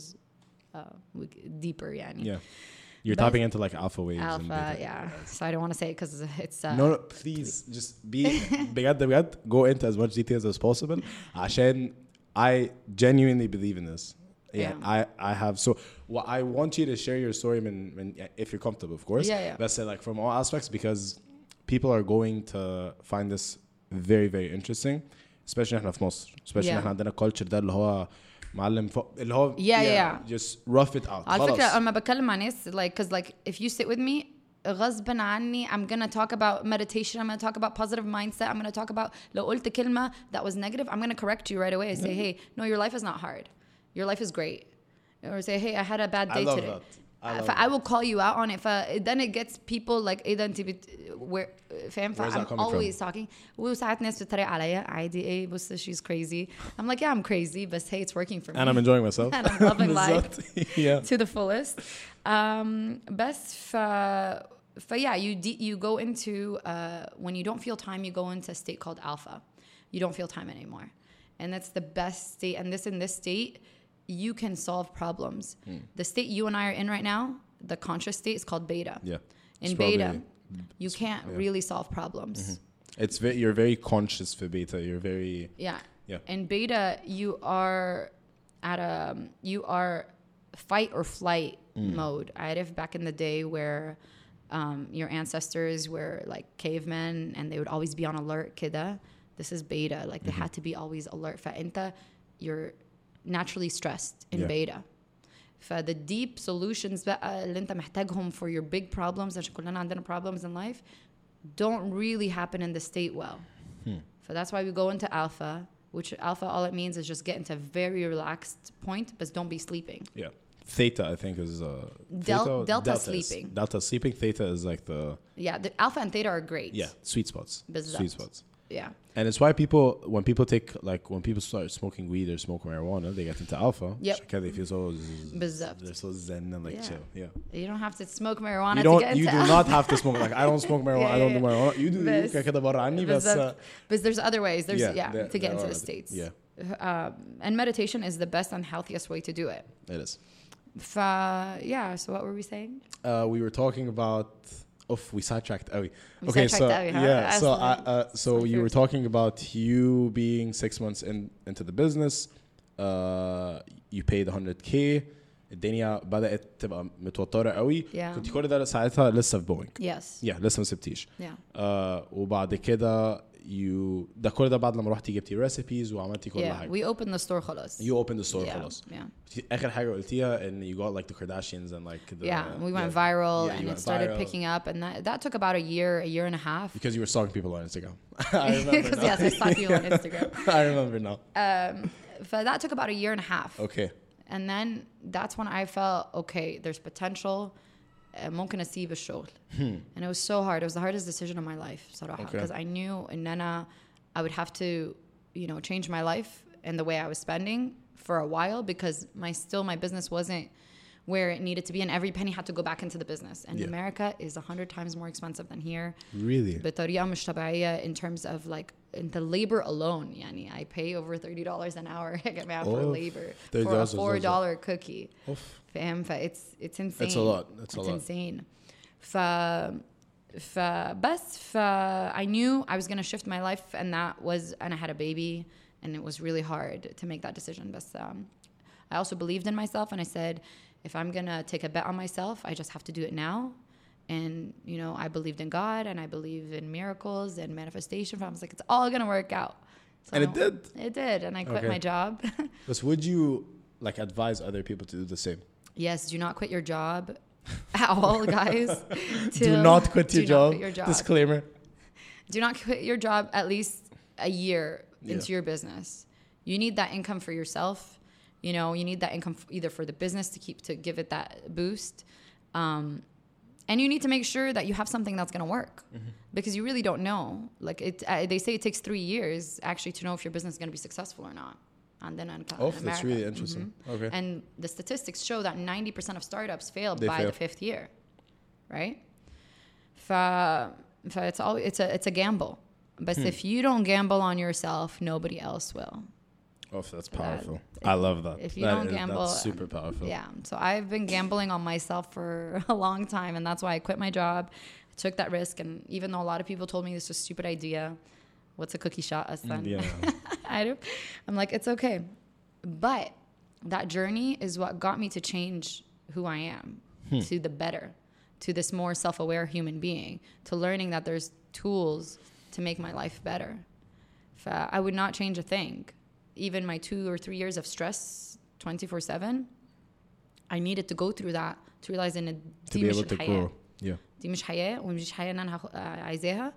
deeper. Yeah. You're tapping into like alpha waves. Alpha, yeah. So I don't want to say it because it's... No, please. Just be... بجد, go into as much details as possible. عشان I genuinely believe in this. Yeah. I have... So I want you to share your story if you're comfortable, of course. Yeah. But say like from all aspects, because people are going to find this very, very interesting. Especially احنا في مصر. Especially احنا عندنا culture ده اللي هو معلم اللي هو just rough it out. على فكرة لما بتكلم مع ناس like cause like if you sit with me غصبا عني I'm gonna talk about meditation, I'm gonna talk about positive mindset, I'm gonna talk about لو قلت كلمة that was negative, I'm gonna correct you right away and say, hey, no, your life is not hard. Your life is great. Or say, hey, I had a bad day today. I will call you out on it. Then it gets people like إيه ده أنت فاهم. I'm always talking. وساعات ناس بتتريق عليا عادي. إيه بص she's crazy. I'm like, yeah, I'm crazy, but hey, it's working for me. And I'm enjoying myself. And I'm loving life to the fullest. بس yeah, you go into when you don't feel time, you go into a state called alpha. You don't feel time anymore, and that's the best state. And in this state, you can solve problems. The state you and I are in right now, the conscious state, is called beta. Yeah. In beta, you can't really solve problems. You're very conscious for beta. You're very... Yeah. In beta, you are fight or flight mode. عارف back in the day where your ancestors were like cavemen and they would always be on alert كده. This is beta. Like they had to be always alert. فأنت you're naturally stressed in beta. The deep solutions بقى اللي انت محتاجهم for your big problems عشان كلنا عندنا problems in life don't really happen in the state well. So that's why we go into alpha, which alpha all it means is just get into a very relaxed point, but don't be sleeping. Yeah. Theta, I think, is delta sleeping. Delta sleeping. Theta is like the the alpha and theta are great. Yeah, sweet spots. بالزبط. Sweet spots. Yeah. And it's why when people start smoking weed or smoke marijuana, they get into alpha. Yep. Because they feel so بالظبط. they're so zen and like Yeah. chill. Yeah. You don't have to smoke marijuana You to get into do not have to smoke. Like I don't smoke marijuana. I don't do marijuana. You do بس- كده برا عني بس. But there's other ways. There's there- to get there into are the States. Yeah, And meditation is the best and healthiest way to do it. it is. So what were we saying? We were talking about. We sidetracked. We sidetracked Awi, huh? Yeah. So Absolutely. so you were talking about you being 6 months into the business. You paid 100K. الدنيا بدأت تبقى متوترة قوي. Yeah. كنت كل ده ساعتها لسه في بوينج. Yes. لسه ما سبتيش. Yeah. وبعد كده ده كل ده بعد لما رحتي جبتي ريسيبيز وعملتي كل Yeah. حاجة. We opened the store خلاص. You opened the store Yeah. خلاص. Yeah. آخر حاجة قلتيها إن you got like the Kardashians and like the. Yeah. We went viral Yeah, and you it went started viral. picking up, and that took about a year and a half. Because you were stalking people on Instagram. I remember Because now. yes, I stalk you on Instagram. I remember now. But that took about a year and a half. Okay. And then that's when I felt, okay, there's potential. ممكن أسيب الشغل. And it was so hard. It was the hardest decision of my life صراحة. Okay. Because I knew إن أنا I would have to, change my life and the way I was spending for a while because my business wasn't where it needed to be, and every penny had to go back into the business. And Yeah. America is 100 times more expensive than here. Really? بطريقة مش طبيعية in terms of like in the labor alone. يعني I pay over $30 an hour for labor for a $4 cookie. فاهم؟ it's insane. It's a lot. It's a lot. Insane. I knew I was going to shift my life, and I had a baby, and it was really hard to make that decision. But I also believed in myself, and I said, if I'm going to take a bet on myself, I just have to do it now. And, I believed in God, and I believe in miracles and manifestation. I was like, it's all going to work out. So And it did? It did, and I quit my job. But would you advise other people to do the same? Yes, do not quit your job at all, guys. Do not quit your job. Quit your job. Disclaimer. Do not quit your job at least a year into Yeah. your business. You need that income for yourself. You need that income either for the business to give it that boost. And you need to make sure that you have something that's going to work because you really don't know. Like they say it takes 3 years actually to know if your business is going to be successful or not. And then in That's America. really interesting. Okay. And the statistics show that 90% of startups fail by the 5th year, right? It's a gamble. But if you don't gamble on yourself, nobody else will. That's powerful. I love that. If you don't gamble, that's super powerful. Yeah. So I've been gambling on myself for a long time, and that's why I quit my job. I took that risk, and even though a lot of people told me this was a stupid idea, what's a cookie shot, son? Yeah. I'm like, it's okay. But that journey is what got me to change who I am to the better, to this more self-aware human being, to learning that there's tools to make my life better. I would not change a thing. Even my 2 or 3 years of stress 24/7, I needed to go through that to realize in to be able to grow. Yeah. دي مش حياة ومش حياة إن أنا عايزاها.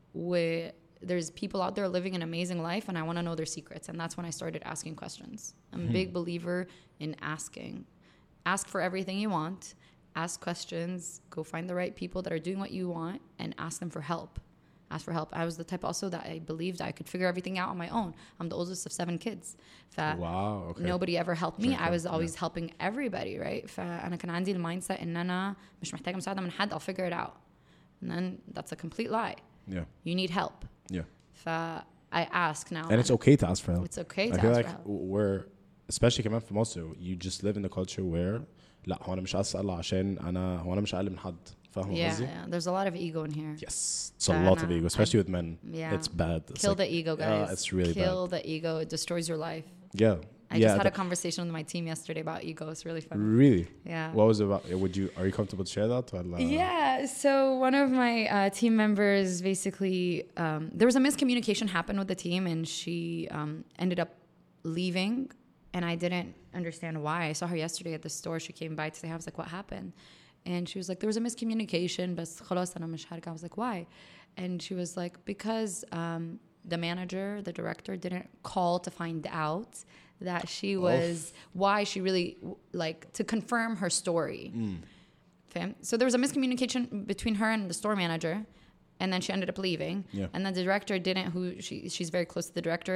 There's people out there living an amazing life, and I want to know their secrets. And that's when I started asking questions. I'm a big believer in asking. Ask for everything you want. Ask questions. Go find the right people that are doing what you want and ask them for help. Ask for help. I was the type also that I believed I could figure everything out on my own. I'm the oldest of 7 kids. Wow. Okay. Nobody ever helped me. I was always helping everybody, right? فأنا كان عندي المايند سيت إن أنا مش محتاجة مساعدة من حد. I'll figure it out. And then that's a complete lie. Yeah. You need help. Yeah. I ask now. And it's okay to ask for help. It's okay to I feel ask like for help. we're especially كمان في مصر you just live in the culture where لا هو أنا مش أسأل عشان هو أنا مش أقل من حد. فاهم قصدي؟ Yeah. There's a lot of ego in here. Yes. It's a lot of ego, especially with men. Yeah. It's bad. It's Kill the ego, guys. It's really Kill the ego. It destroys your life. Yeah. I just had a conversation with my team yesterday about ego. It's really fun. Really? Yeah. What was it about? Are you comfortable to share that? Yeah. So one of my team members basically, there was a miscommunication happened with the team, and she ended up leaving, and I didn't understand why. I saw her yesterday at the store. She came by to say, I was like, what happened? And she was like, there was a miscommunication, but خلاص أنا مش هرجع. I was like, why? And she was like, because the manager, the director, didn't call to find out that she was, why she really, like, to confirm her story. So there was a miscommunication between her and the store manager. and then she ended up leaving. Yeah. And then the director didn't, she's very close to the director.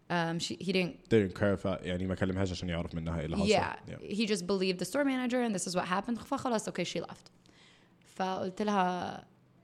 He didn't clarify يعني ما كلمهاش عشان يعرف منها ايه اللي حصل. yeah, he just believed the store manager and this is what happened. فخلاص okay, she left. فقلت لها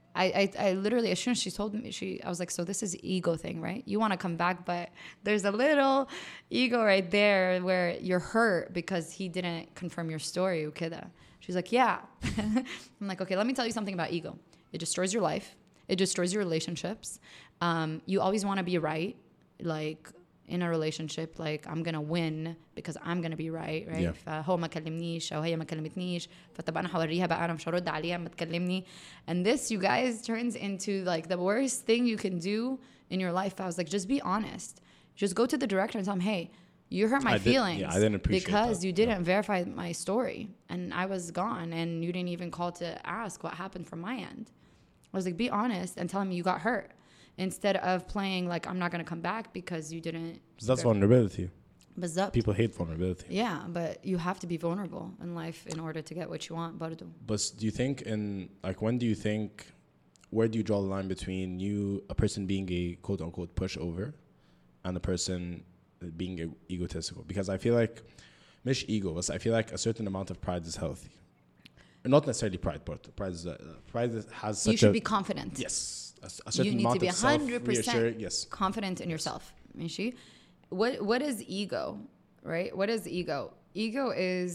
I literally, as soon as she told me, I was like, so this is ego thing, right? You want to come back, but there's a little ego right there where you're hurt because he didn't confirm your story. وكده. She's like, yeah. I'm like, okay, let me tell you something about ego. It destroys your life. It destroys your relationships. You always want to be right. Like, in a relationship, like, I'm going to win because I'm going to be right? Yeah. فهو ما كلمنيش أو هي ما كلمتنيش فطب أنا هوريها بقى أنا مش هرد عليها ما تكلمني. And this, you guys, turns into like the worst thing you can do in your life. I was like, just be honest. Just go to the director and tell him, hey, you hurt my feelings. I didn't appreciate because that. you didn't verify my story and I was gone and you didn't even call to ask what happened from my end. I was like, be honest and tell him you got hurt. Instead of playing like I'm not going to come back because you didn't. That's vulnerability. بالظبط. People hate vulnerability. Yeah, but you have to be vulnerable in life in order to get what you want. برضو. But do you think when do you think, where do you draw the line between a person being a quote unquote pushover and a person being egotistical? Because I feel like مش ego, but I feel like a certain amount of pride is healthy. Not necessarily pride, but pride has such you should be confident. Yes. A certain you need amount to be 100% yes. confident in yourself. ماشي? What is ego, right? What is ego? Ego is,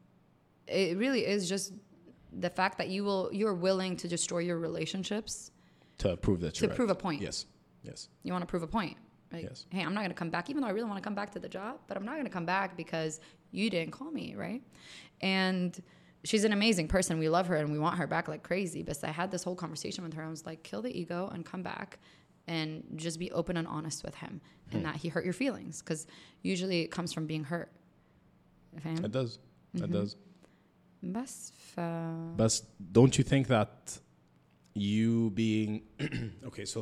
it really is just the fact that you're willing to destroy your relationships to prove that you're to prove a point. Yes. You want to prove a point. Like, yes. Hey, I'm not going to come back, even though I really want to come back to the job, but I'm not going to come back because you didn't call me, right? And she's an amazing person. We love her and we want her back like crazy. But I had this whole conversation with her. I was like, kill the ego and come back and just be open and honest with him and that he hurt your feelings. Because usually it comes from being hurt. It does. It does. But don't you think that you being... okay, so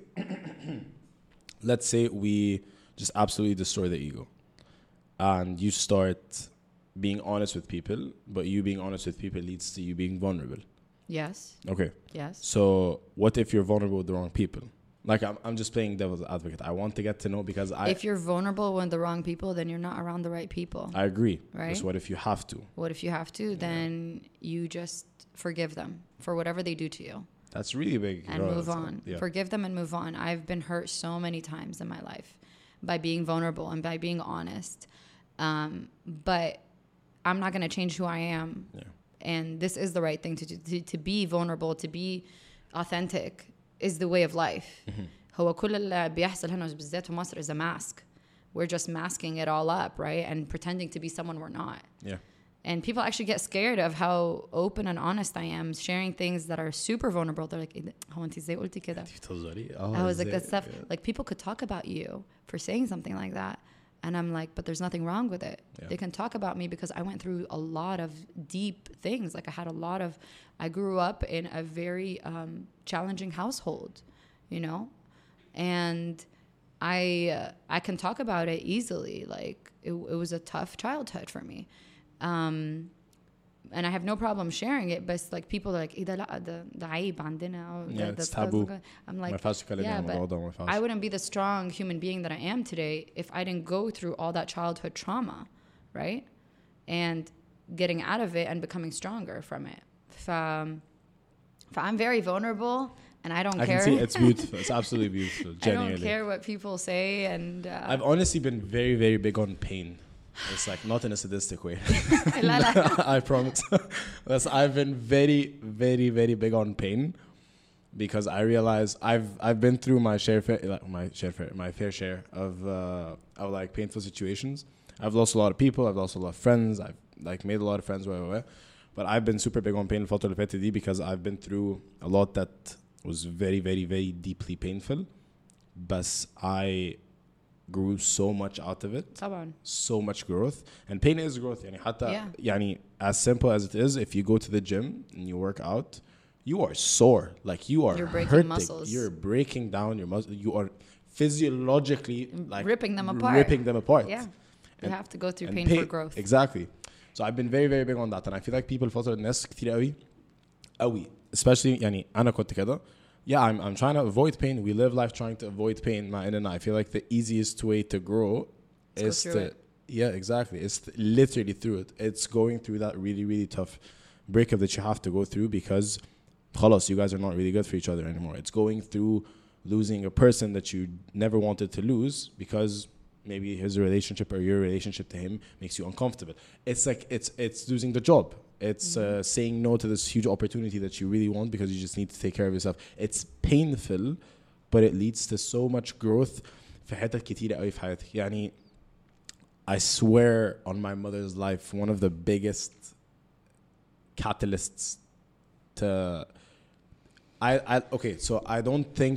let's say we just absolutely destroy the ego. And you start... being honest with people, but you being honest with people leads to you being vulnerable. Yes. Okay. Yes. So what if you're vulnerable with the wrong people? Like I'm just playing devil's advocate. I want to get to know because if you're vulnerable with the wrong people, then you're not around the right people. I agree. Right. Just what if you have to? What if you have to? Then you just forgive them for whatever they do to you. That's really big. And move on. Yeah. Forgive them and move on. I've been hurt so many times in my life by being vulnerable and by being honest. But I'm not going to change who I am. Yeah. And this is the right thing to do. To be vulnerable, to be authentic is the way of life. هو كل اللي بيحصل هنا بالذات في مصر is a mask. We're just masking it all up, right? And pretending to be someone we're not. Yeah. And people actually get scared of how open and honest I am, sharing things that are super vulnerable. They're like, هو أنت إزاي قلتي كده? I was like, that stuff. Yeah. Like people could talk about you for saying something like that. And I'm like, but there's nothing wrong with it. Yeah. They can talk about me because I went through a lot of deep things. Like I grew up in a very challenging household, you know? And I can talk about it easily. Like it was a tough childhood for me. And I have no problem sharing it, but like people are like, ده عيب عندنا. Yeah, it's taboo. I'm like, yeah, but I wouldn't be the strong human being that I am today if I didn't go through all that childhood trauma, right? And getting out of it and becoming stronger from it. I'm very vulnerable and I don't care. I can see it's beautiful. It's absolutely beautiful. Genuinely. I don't care what people say. And I've honestly been very, very big on pain. It's like not in a sadistic way. I promise. I've been very, very, very big on pain because I realize I've been through my fair share of like painful situations. I've lost a lot of people. I've lost a lot of friends. I've like made a lot of friends. But I've been super big on pain الفترة اللي فاتت دي because I've been through a lot that was very, very, very deeply painful. But I grew so much out of it. طبعا. So much growth. And pain is growth. يعني حتى يعني as simple as it is, if you go to the gym and you work out, you are sore. Like you're breaking hurting. Muscles. You're breaking down your muscles. You are physiologically like ripping them apart. Yeah. You have to go through pain for growth. Exactly. So I've been very, very big on that. And I feel like people الفترة الناس كتير قوي especially يعني أنا كنت كده Yeah, I'm trying to avoid pain. We live life trying to avoid pain. And I feel like the easiest way to grow is to yeah, exactly. It's literally through it. It's going through that really, really tough breakup that you have to go through because خلاص, you guys are not really good for each other anymore. It's going through losing a person that you never wanted to lose because maybe his relationship or your relationship to him makes you uncomfortable. It's like it's losing the job. It's saying no to this huge opportunity that you really want because you just need to take care of yourself. It's painful, but it leads to so much growth في حتت كتيرة قوي في حياتي. يعني I swear on my mother's life, one of the biggest catalysts to okay, so I don't think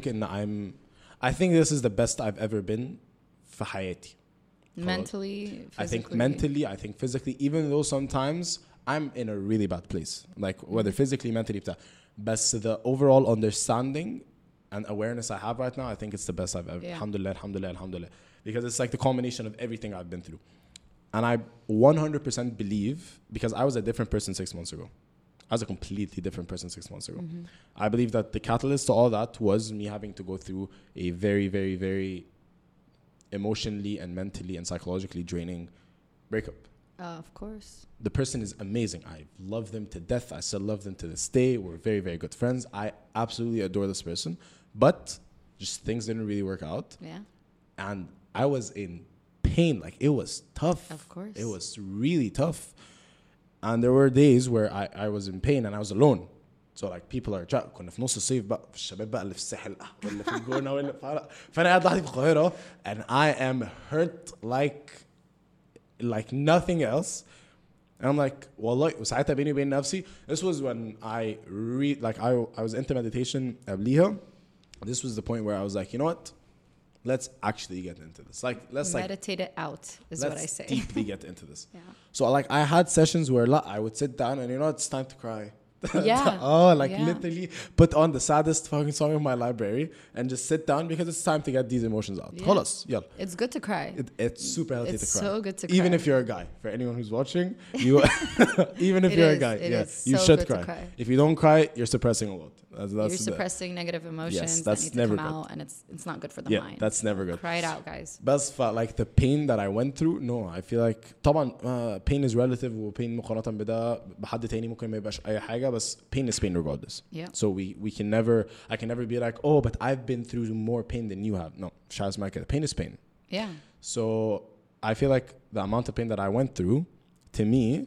I think this is the best I've ever been في حياتي. Mentally, physically. I think mentally, I think physically, even though sometimes I'm in a really bad place, like whether physically, mentally, but the overall understanding and awareness I have right now, I think it's the best I've ever. Yeah. Alhamdulillah, alhamdulillah, alhamdulillah. Because it's like the culmination of everything I've been through. And I 100% believe, because I was a different person 6 months ago. I was a completely different person 6 months ago. I believe that the catalyst to all that was me having to go through a very, very, very emotionally and mentally and psychologically draining breakup. Of course. The person is amazing. I love them to death. I still love them to this day. We're very, very good friends. I absolutely adore this person. But just things didn't really work out. Yeah. And I was in pain. Like, it was tough. Of course. It was really tough. And there were days where I was in pain and I was alone. So like people are كنا في نص الصيف بقى في الشباب بقى اللي في الساحل ولا في الجونة ولا فأنا قاعد لوحدي في القاهرة and I am hurt like nothing else. And I'm like, والله وساعتها بيني وبين نفسي. This was when I I was into meditation قبليها. This was the point where I was like, you know what? Let's actually get into this. Like, let's meditate it out is what I say. Let's deeply get into this. Yeah. So like I had sessions where I would sit down and you know it's time to cry. Yeah. Literally put on the saddest fucking song in my library and just sit down because it's time to get these emotions out. Yeah. خلاص يلا. It's good to cry. It's super healthy it's to cry. so good to cry. Even if you're a guy. For anyone who's watching, you even if you're a guy, you so should cry. cry. If you don't cry, you're suppressing a lot. You're suppressing negative emotions yes, that's that need never to come good. out, and it's not good for the mind. That's never good. Cry it out, guys. بس like the pain that I went through, no, I feel like طبعا pain is relative و pain مقارنة بده بحد تاني ممكن ما يبقاش أي حاجة بس pain is pain regardless. Yeah. So we can never, I can never be like, oh, but I've been through more pain than you have. No, شاز ما كده. Pain is pain. Yeah. So I feel like the amount of pain that I went through, to me,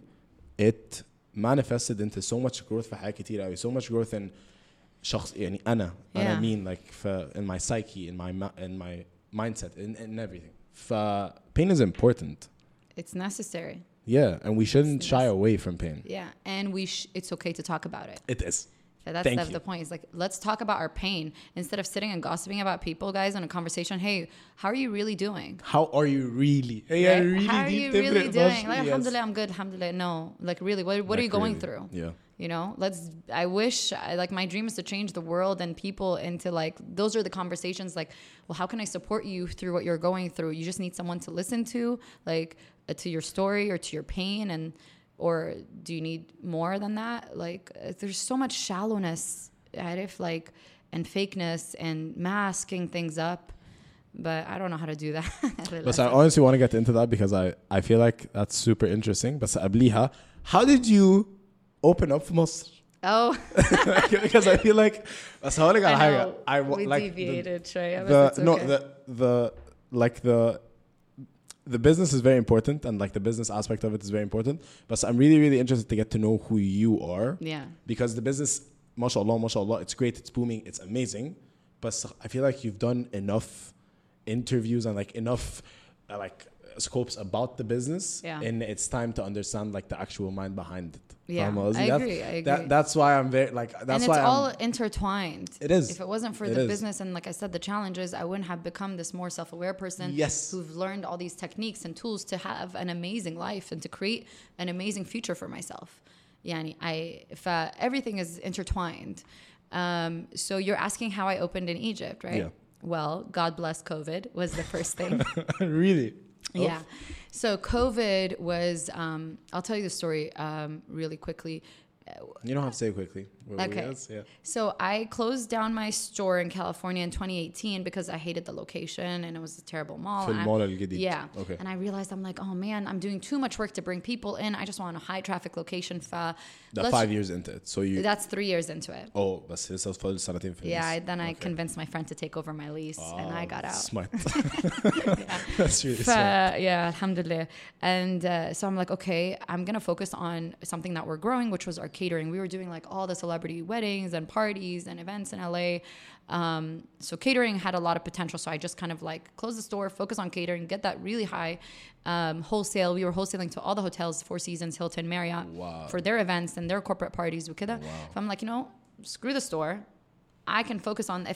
it manifested into so much growth في حاجات كتير قوي. So much growth in شخص يعني أنا mean like in my psyche, in my mindset, in everything. Pain is important. It's necessary. Yeah, and we shouldn't shy away from pain. Yeah, and it's okay to talk about it. It is. That's the point. It's like, let's talk about our pain instead of sitting and gossiping about people, guys, in a conversation. Hey, how are you really doing? How are you really? Hey, right? Really how are you really doing? Like, yes. Alhamdulillah, I'm good. Alhamdulillah. No, like really, what are you going through? Yeah. You know, I wish, like, my dream is to change the world and people into, like, those are the conversations, like, well, how can I support you through what you're going through? You just need someone to listen to, like, to your story or to your pain, or do you need more than that? Like, there's so much shallowness, like, and fakeness and masking things up. But I don't know how to do that. But I honestly want to get into that because I feel like that's super interesting. But قبليها, how did you open up for Mosr? Oh. Because I feel like بس هقولك على حاجة. We like deviated شوية. The business is very important and like the business aspect of it is very important. But I'm really, really interested to get to know who you are. Yeah. Because the business, mashallah, it's great, it's booming, it's amazing. But I feel like you've done enough interviews and like enough scopes about the business. Yeah. And it's time to understand like the actual mind behind it. Yeah, I agree. That's why I'm very like. That's and why it's all intertwined. It is. If it wasn't for the business and, like I said, the challenges, I wouldn't have become this more self-aware person. Yes. Who've learned all these techniques and tools to have an amazing life and to create an amazing future for myself. Yani, everything is intertwined. So you're asking how I opened in Egypt, right? Yeah. Well, God bless COVID was the first thing. Really? Yeah. So COVID was, I'll tell you the story really quickly. You don't have to say it quickly. Okay. Yes, yeah. So I closed down my store in California in 2018 because I hated the location and it was a terrible mall. في And I- المول الجديد. Yeah. Okay. And I realized I'm like, oh man, I'm doing too much work to bring people in. I just want a high traffic location. That's 5 years into it. So you... That's 3 years into it. Oh, بس لسه فاضل سنتين في Yeah, then I Okay. convinced my friend to take over my lease and I got out. Smart. That's really smart. Yeah, alhamdulillah. And so I'm like, okay, I'm going to focus on something that we're growing, which was our catering. We were doing like all the celebrity weddings and parties and events in LA. So catering had a lot of potential. So I just kind of like close the store, focus on catering, get that really high wholesale. We were wholesaling to all the hotels, Four Seasons, Hilton, Marriott, Wow. for their events and their corporate parties. Wow. So I'm like, you know, screw the store. I can focus on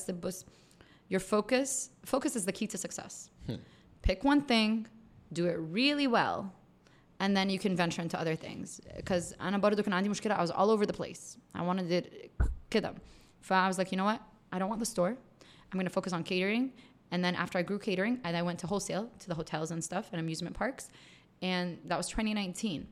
your focus is the key to success. Pick one thing, do it really well, and then you can venture into other things. Because أنا برضو كان عندي مشكلة. I was all over the place. I wanted it كده. I was like, you know what? I don't want the store. I'm going to focus on catering. And then after I grew catering, I went to wholesale to the hotels and stuff and amusement parks. And that was 2019.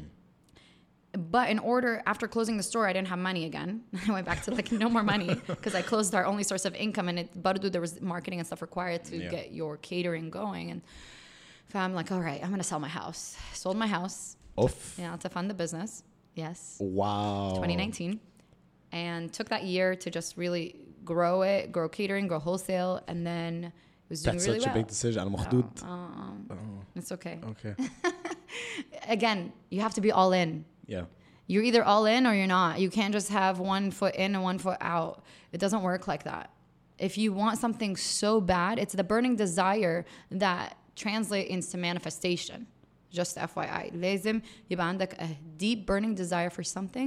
But in order, after closing the store, I didn't have money again. I went back to like no more money because I closed our only source of income. And there was marketing and stuff required to get your catering going. And I'm like, all right, I'm going to sell my house. Sold my house. Oof. Yeah, to fund the business. Yes. Wow. 2019. And took that year to just really grow it, grow catering, grow wholesale. And then it was doing That's really such well. a big decision. أنا مخضوض. It's okay. Okay. Again, you have to be all in. Yeah. You're either all in or you're not. You can't just have one foot in and one foot out. It doesn't work like that. If you want something so bad, it's the burning desire that translates into manifestation. Just FYI. لازم يبقى عندك a deep burning desire for something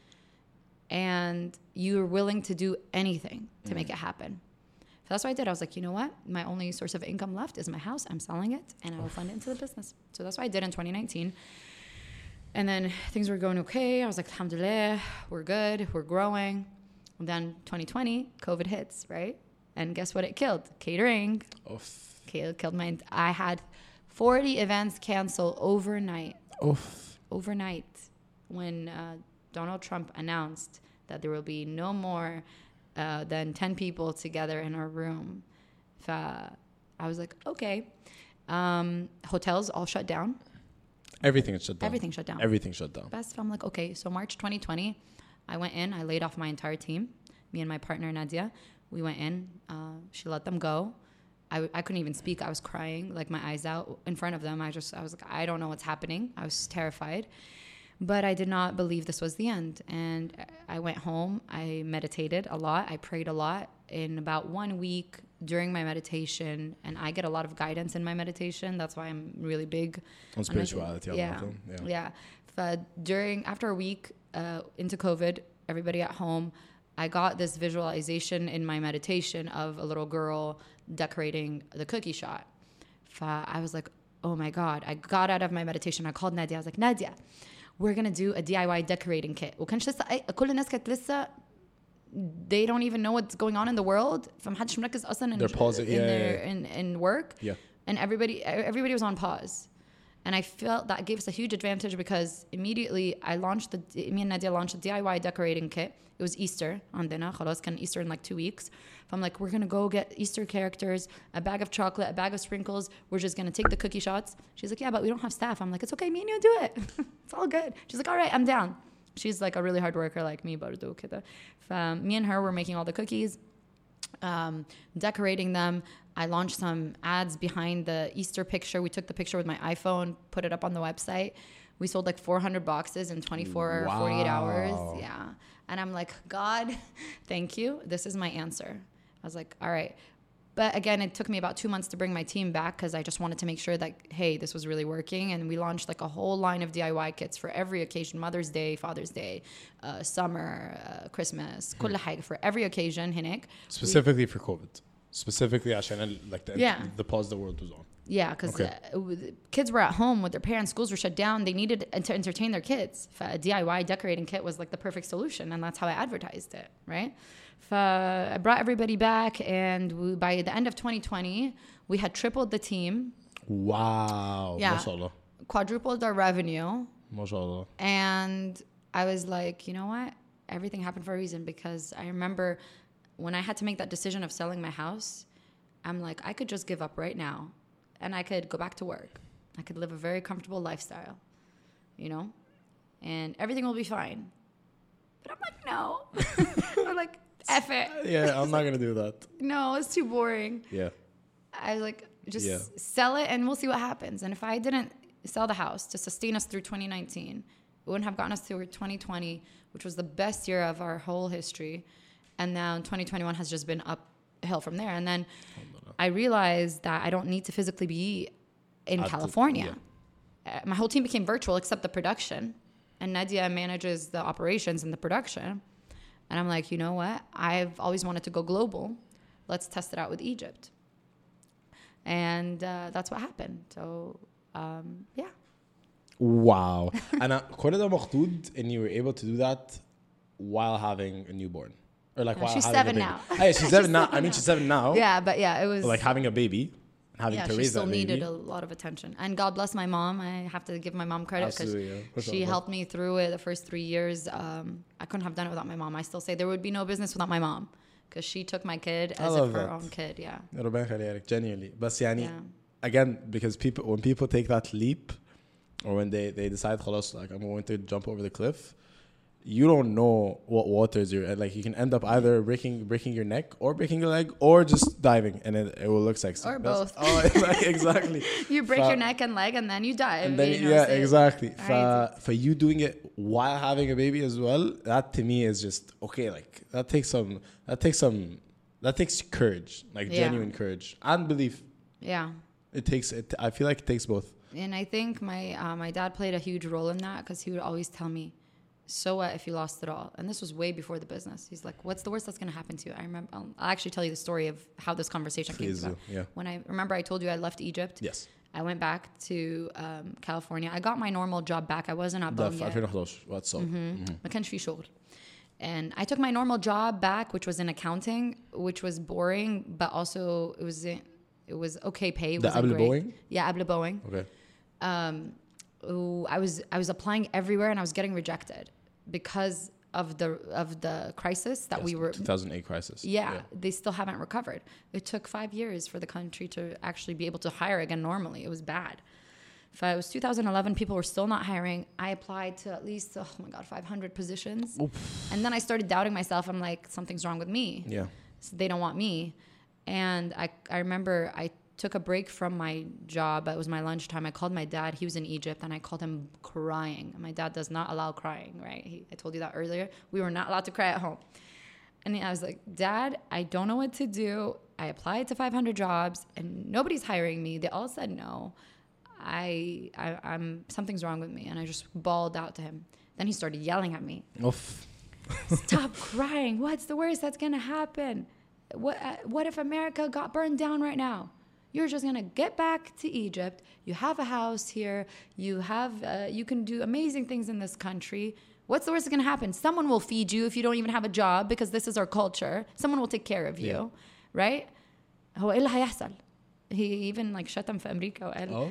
and you're willing to do anything to make it happen. So that's what I did. I was like, you know what? My only source of income left is my house. I'm selling it and I will fund it into the business. So that's what I did in 2019. And then things were going okay. I was like, alhamdulillah, we're good, we're growing. And then 2020, COVID hits, right? And guess what it killed? Catering. Oof. Killed my... I had 40 events canceled overnight. Oof. Overnight. When Donald Trump announced that there will be no more than 10 people together in our room. I was like, okay. Hotels all shut down. Everything is shut down. Everything shut down. Everything shut down. Best. I'm like, okay. So March 2020, I went in. I laid off my entire team. Me and my partner Nadia, we went in. She let them go. I couldn't even speak. I was crying, like my eyes out in front of them. I was like, I don't know what's happening. I was terrified, but I did not believe this was the end. And I went home. I meditated a lot. I prayed a lot. In about 1 week during my meditation, and I get a lot of guidance in my meditation. That's why I'm really big On spirituality. Yeah. After a week into COVID, everybody at home, I got this visualization in my meditation of a little girl decorating the cookie shop. I was like, oh my God. I got out of my meditation. I called Nadia. I was like, Nadia, we're going to do a DIY decorating kit. وكانش لسه كل الناس كانت لسه they don't even know what's going on in the world. فمحدش مركز أصلا in work. Yeah. And everybody was on pause. And I felt that gave us a huge advantage because immediately me and Nadia launched the DIY decorating kit. It was Easter عندنا خلاص كان Easter in like 2 weeks. I'm like, we're going to go get Easter characters, a bag of chocolate, a bag of sprinkles. We're just going to take the cookie shots. She's like, yeah, but we don't have staff. I'm like, it's okay. Me and you do it. It's all good. She's like, all right, I'm down. She's like a really hard worker like me. برضو كده. Me and her were making all the cookies, decorating them. I launched some ads behind the Easter picture. We took the picture with my iPhone, put it up on the website. We sold like 400 boxes in 24 or 48 hours. Yeah. And I'm like, God, thank you. This is my answer. I was like, all right. But again, it took me about 2 months to bring my team back because I just wanted to make sure that, hey, this was really working. And we launched like a whole line of DIY kits for every occasion, Mother's Day, Father's Day, summer, Christmas, كل حاجة for every occasion هناك. Specifically for COVID. Specifically عشان like the pause the world was on. Yeah, because kids were at home with their parents, schools were shut down. They needed to entertain their kids. A DIY decorating kit was like the perfect solution, and that's how I advertised it, right? I brought everybody back, and by the end of 2020, we had tripled the team. Wow. Yeah. MashaAllah. Quadrupled our revenue. MashaAllah. And I was like, you know what? everything happened for a reason, because I remember when I had to make that decision of selling my house, I'm like, I could just give up right now and I could go back to work. I could live a very comfortable lifestyle, you know, and everything will be fine. But I'm like, no. I'm like, F it. Yeah, I'm not going to do that. No, it's too boring. Yeah. I was like, just sell it and we'll see what happens. And if I didn't sell the house to sustain us through 2019, it wouldn't have gotten us through 2020, which was the best year of our whole history. And now 2021 has just been uphill from there. And then I realized that I don't need to physically be in California. My whole team became virtual except the production. And Nadia manages the operations and the production. And I'm like, you know what? I've always wanted to go global. Let's test it out with Egypt. And that's what happened. So, yeah. Wow. أنا كل ده مخطوط and you were able to do that while having a newborn. Or like while she's having 7 a baby. now. Hey, she's 7 now. I mean, she's 7 now. Yeah, but yeah, it was... Like having a baby, having to she raise still that baby. needed a lot of attention. And God bless my mom. I have to give my mom credit because she helped me through it the first 3 years. I couldn't have done it without my mom. I still say there would be no business without my mom because she took my kid as if her own kid. Yeah. ربنا يخليها لك, genuinely. بس يعني, again, because when people take that leap, or when they decide, خلاص, like I'm going to jump over the cliff, you don't know what waters you're at. Like you can end up either breaking your neck or breaking your leg or just diving, and it will look sexy. Or both. Oh, exactly. You break your neck and leg, and then you dive. And then, exactly. For you doing it while having a baby as well, that to me is just okay. Like that takes courage, like genuine courage and belief. Yeah. I feel like it takes both. And I think my dad played a huge role in that because he would always tell me, so what if you lost it all? And this was way before the business. He's like, what's the worst that's going to happen to you? I remember, I'll actually tell you the story of how this conversation came about. Yeah. When I remember I told you I left Egypt. Yes. I went back to California. I got my normal job back. I wasn't at Bum yet. 2011. What's up? ما كانش في شغل. And I took my normal job back, which was in accounting, which was boring, but also it was okay pay. It wasn't great. Boeing? Yeah, قبل Boeing. Okay. I was applying everywhere and I was getting rejected because of the crisis that we were 2008 crisis. Yeah, they still haven't recovered. It took 5 years for the country to actually be able to hire again normally. It was bad. If it was 2011, people were still not hiring. I applied to at least 500 positions. Oof. And then I started doubting myself. I'm like, something's wrong with me. Yeah. So they don't want me. And I remember I took a break from my job. It was my lunchtime. I called my dad. He was in Egypt, and I called him crying. My dad does not allow crying, right? I told you that earlier. We were not allowed to cry at home. And I was like, Dad, I don't know what to do. I applied to 500 jobs, and nobody's hiring me. They all said no. I'm something's wrong with me. And I just bawled out to him. Then he started yelling at me. Oof. Stop crying. What's the worst that's going to happen? What if America got burned down right now? You're just going to get back to Egypt. You have a house here. You can do amazing things in this country. What's the worst that's going to happen? Someone will feed you if you don't even have a job because this is our culture. Someone will take care of you, right? هو إيه اللي هيحصل? He even like شتم في أمريكا وقال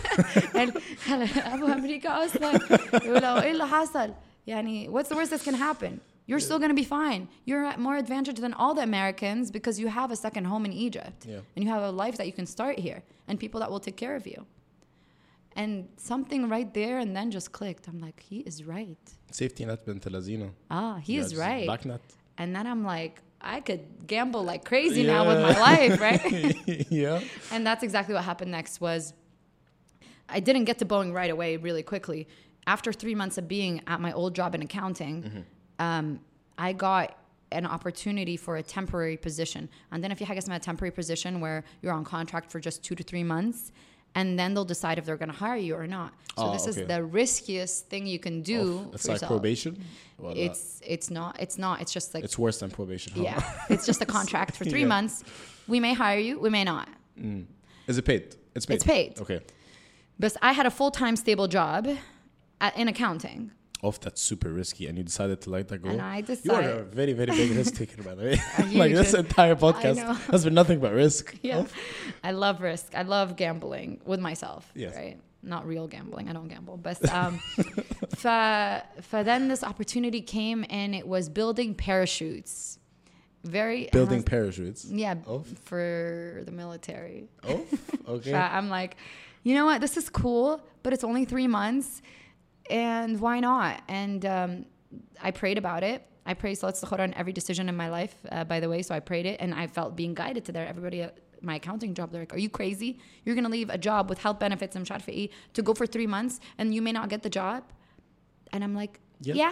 أبو أمريكا أصلا يقول إيه اللي حصل؟ يعني what's the worst that's going to happen? You're still going to be fine. You're at more advantage than all the Americans because you have a second home in Egypt. Yeah. And you have a life that you can start here and people that will take care of you. And something right there and then just clicked. I'm like, he is right. Safety net بنت لذينة. He is right. Back net. And then I'm like, I could gamble like crazy now with my life, right? Yeah. And that's exactly what happened next was I didn't get to Boeing right away really quickly. After 3 months of being at my old job in accounting, I got an opportunity for a temporary position. And then if you have a temporary position where you're on contract for just 2 to 3 months, and then they'll decide if they're going to hire you or not. So this is the riskiest thing you can do. It's like probation? It's not. It's just like... It's worse than probation. Huh? Yeah. It's just a contract for 3 months. We may hire you. We may not. Is it paid? It's paid. It's paid. Okay. But I had a full-time stable job in accounting. That's super risky, and you decided to let that go. And I decided. You are a very, very big risk taker, by the way. Like this entire podcast has been nothing but risk. Yeah, I love risk. I love gambling with myself. Yes. Right. not real gambling. I don't gamble. But then this opportunity came, and it was building parachutes. Building parachutes. Yeah, for the military. Oh, okay. I'm like, you know what? This is cool, but it's only 3 months, and why not? And I prayed about it. I prayed Salat Istikhara on every decision in my life, by the way. So I prayed it, and I felt being guided to there. Everybody at my accounting job, they're like, are you crazy? You're going to leave a job with health benefits and sharfi to go for 3 months, and you may not get the job? And I'm like, yeah.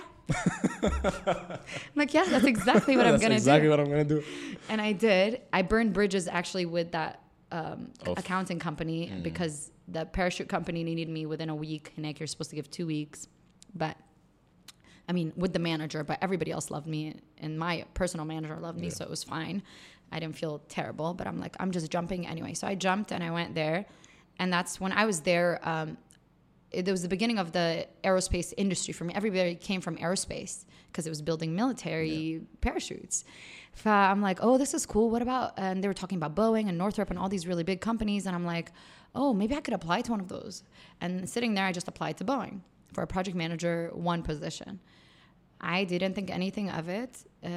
I'm like, yeah, that's exactly what I'm going to do. That's exactly what I'm going to do. And I did. I burned bridges actually with that accounting company because the parachute company needed me within a week. And like, you're supposed to give 2 weeks. But I mean, with the manager, but everybody else loved me, and my personal manager loved me, so it was fine. I didn't feel terrible, but I'm like, I'm just jumping anyway. So I jumped and I went there, and that's when I was there. It was the beginning of the aerospace industry for me. Everybody came from aerospace because it was building military parachutes. So I'm like, oh, this is cool. What about? And they were talking about Boeing and Northrop and all these really big companies, and I'm like, oh, maybe I could apply to one of those. And sitting there, I just applied to Boeing for a project manager 1 position. I didn't think anything of it.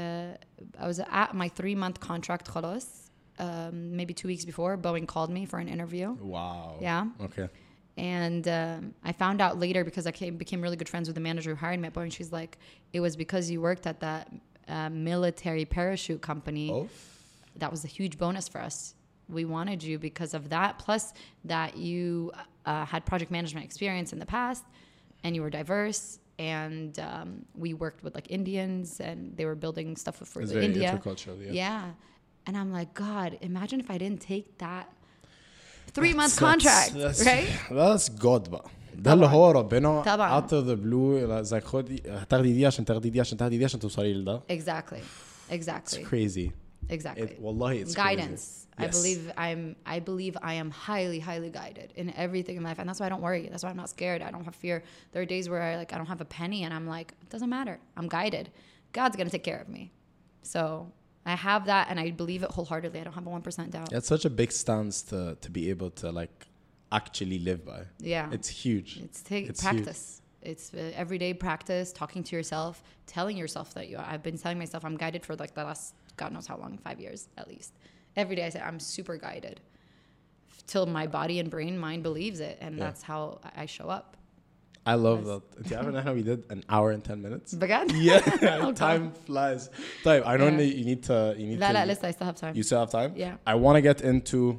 I was at my 3-month contract, khalas. Maybe 2 weeks before, Boeing called me for an interview. Wow. Yeah. Okay. And I found out later because I became really good friends with the manager who hired me at Boeing. She's like, it was because you worked at that military parachute company. Oh. That was a huge bonus for us. We wanted you because of that. Plus that you had project management experience in the past, and you were diverse. And we worked with like Indians, and they were building stuff for India. Intercultural, yeah. And I'm like, God, imagine if I didn't take that 3-month contract, right? That's God بقى. ده اللي هو ربنا طبعا. out of the blue زي خدي هتاخدي دي عشان تاخدي دي عشان تاخدي دي عشان توصلي لده. Exactly. It's crazy. Exactly. والله it's guidance. Crazy. Yes. I believe I am highly, highly guided in everything in life, and that's why I don't worry. That's why I'm not scared. I don't have fear. There are days where I don't have a penny, and I'm like, it doesn't matter. I'm guided. God's gonna take care of me. So I have that, and I believe it wholeheartedly. I don't have a 1% doubt. It's such a big stance to be able to like actually live by. Yeah. It's huge. It's practice. Huge. It's everyday practice, talking to yourself, telling yourself that I've been telling myself I'm guided for like the last God knows how long, 5 years at least. Every day I say I'm super guided till my body and brain, mind believes it. And that's how I show up. I love that. Do you ever know how we did an hour and 10 minutes? بجد? Yeah. Time flies. طيب, I know you need to... لا, listen, I still have time. You still have time? Yeah. I want to get into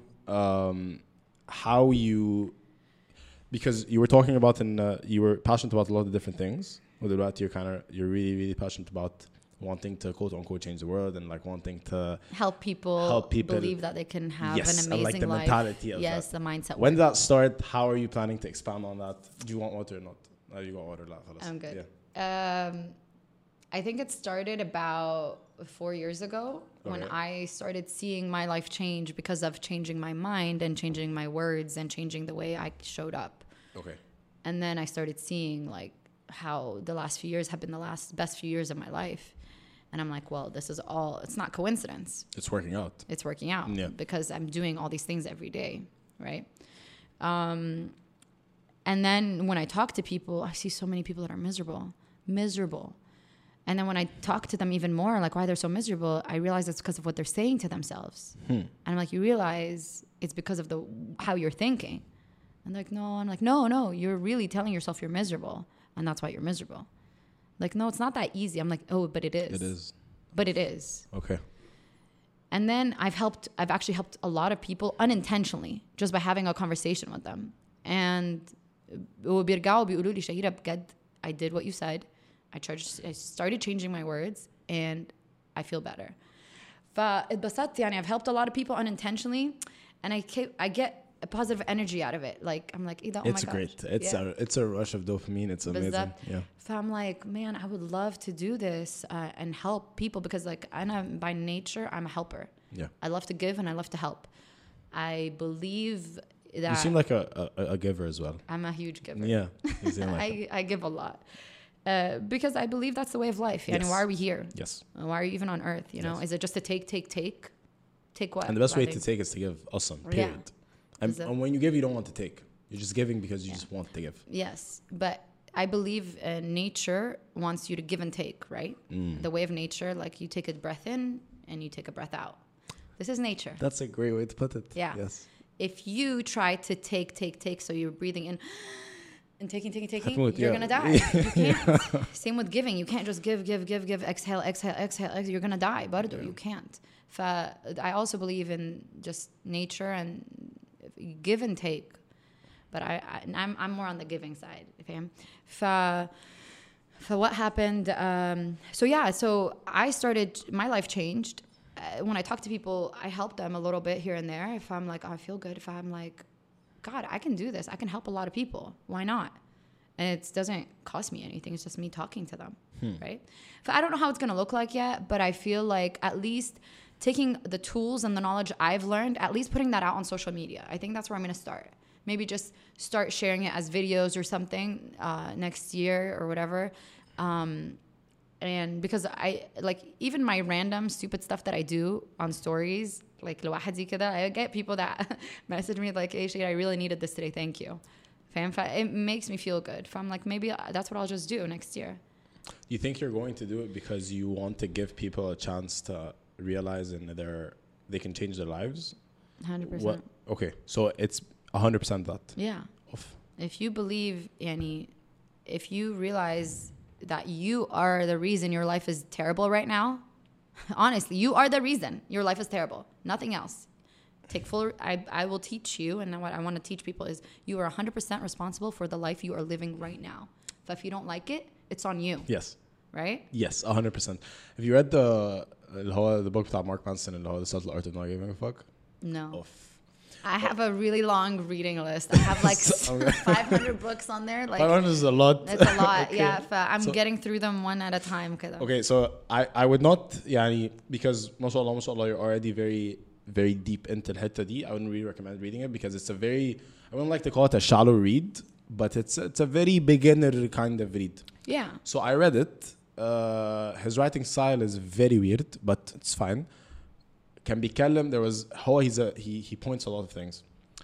how you... Because you were talking about you were passionate about a lot of different things. You're really, really passionate about wanting to quote unquote change the world and like wanting to help people believe that they can have an amazing like the life. Mentality of yes, that. the mindset. When did that start? How are you planning to expand on that? Do you want water or not? No, you got water. I'm good. Yeah. I think it started about 4 years ago when I started seeing my life change because of changing my mind and changing my words and changing the way I showed up. Okay. And then I started seeing like how the last few years have been the best few years of my life. And I'm like, well, this is all, it's not coincidence. It's working out. It's working out because I'm doing all these things every day, right? And then when I talk to people, I see so many people that are miserable. And then when I talk to them even more, like why they're so miserable, I realize it's because of what they're saying to themselves. And I'm like, you realize it's because of how you're thinking. And they're like, no. I'm like, no, you're really telling yourself you're miserable. And that's why you're miserable. Like, no, it's not that easy. I'm like, oh, but it is. It is. But it is. Okay. And then I've actually helped a lot of people unintentionally just by having a conversation with them. And وبيرجعوا بيقولوا لي شهيرة بجد I did what you said. I started changing my words and I feel better. فاتبسطت يعني I've helped a lot of people unintentionally and I get a positive energy out of it. Like I'm like, oh my gosh. It's great. It's a rush of dopamine. It's amazing. Yeah. So I'm like, man, I would love to do this and help people because like by nature I'm a helper. Yeah. I love to give and I love to help. I believe that you seem like a giver as well. I'm a huge giver. Yeah. You seem like I give a lot. Because I believe that's the way of life. Yes. Why are we here? Yes. Why are you even on earth? You know, is it just to take? Take what? And the best way to take is to give. Awesome. Period. Yeah. And when you give, you don't want to take. You're just giving because you just want to give. Yes, but I believe nature wants you to give and take, right? The way of nature, like you take a breath in and you take a breath out. This is nature. That's a great way to put it. Yeah. Yes. If you try to take, so you're breathing in and taking, Hatmout, you're yeah. gonna die. You can't. Same with giving. You can't just give, exhale. You're gonna die. Bardo, you can't. I also believe in just nature and give and take. But I'm more on the giving side. فاهم؟ what happened? So I started. My life changed. When I talk to people, I help them a little bit here and there. If I'm like, oh, I feel good. If I'm like, God, I can do this. I can help a lot of people. Why not? And it doesn't cost me anything. It's just me talking to them, right? I don't know how it's going to look like yet, but I feel like at least taking the tools and the knowledge I've learned, at least putting that out on social media. I think that's where I'm going to start. Maybe just start sharing it as videos or something next year or whatever. And because I like even my random stupid stuff that I do on stories, like لوحدي كده, I get people that message me like, hey, Shade, I really needed this today. Thank you. It makes me feel good. I'm like, maybe that's what I'll just do next year. You think you're going to do it because you want to give people a chance to realize they can change their lives? 100%. Okay, so it's 100% that. Yeah. If you believe, Yani, if you realize that you are the reason your life is terrible right now, honestly, you are the reason your life is terrible. Nothing else. I will teach you, and what I want to teach people is you are 100% responsible for the life you are living right now. So if you don't like it, it's on you. Yes. Right? Yes, 100%. Have you read the book بتاع Mark Manson اللي هو The Subtle Art of Not Giving a Fuck? No. I have a really long reading list. I have like 500 books on there. Like 500 is a lot. It's a lot, okay. yeah. I'm getting through them one at a time. كده. Okay, so I would not, يعني, because ما شاء الله, you're already very, very deep into الحتة دي. I wouldn't really recommend reading it because it's a very, I wouldn't like to call it a shallow read, but it's a very beginner kind of read. Yeah. So I read it. His writing style is very weird, but it's fine. Can بيتكلم, there was he points a lot of things.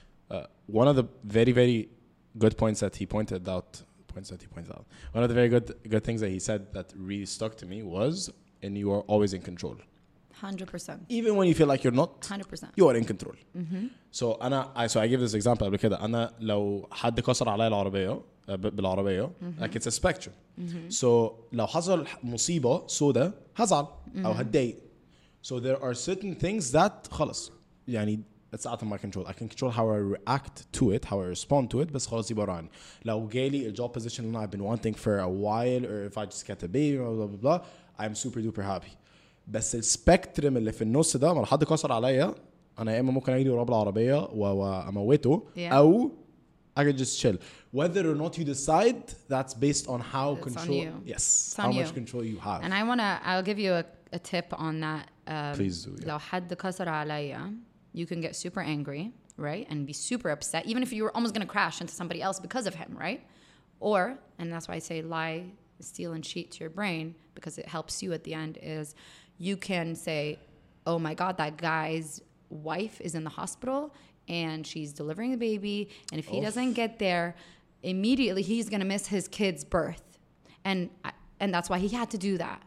One of the very, very good points that he pointed out, one of the very good things that he said that really stuck to me was, and you are always in control. 100%. Even when you feel like you're not, 100%. you are in control. So I give this example قبل كده. أنا لو حد كسر عليا العربية بالعربية, like it's a spectrum. So لو حصل مصيبة سودة هزعل أو هتضايق. So there are certain things that خلاص يعني it's out of my control. I can control how I react to it, how I respond to it. بس خلاص دي برا عني. لو جالي a job position that I've been wanting for a while, or if I just get a baby, blah blah blah, I'm super duper happy. بس السبكترم اللي في النص ده لما حد كسر عليا, أنا يا إما ممكن أجري ورا بالعربية وأموته, أو I can just chill. Whether or not you decide, that's based on how it's control. On you. Yes, how much control you have. And I'll give you a tip on that. Please do. Yeah. لو حد كسر عليا, you can get super angry, right? And be super upset, even if you were almost going to crash into somebody else because of him, right? Or, and that's why I say lie, steal, and cheat to your brain, because it helps you at the end, is you can say, oh my God, that guy's wife is in the hospital and she's delivering the baby, and if he doesn't get there, immediately he's going to miss his kid's birth. And that's why he had to do that.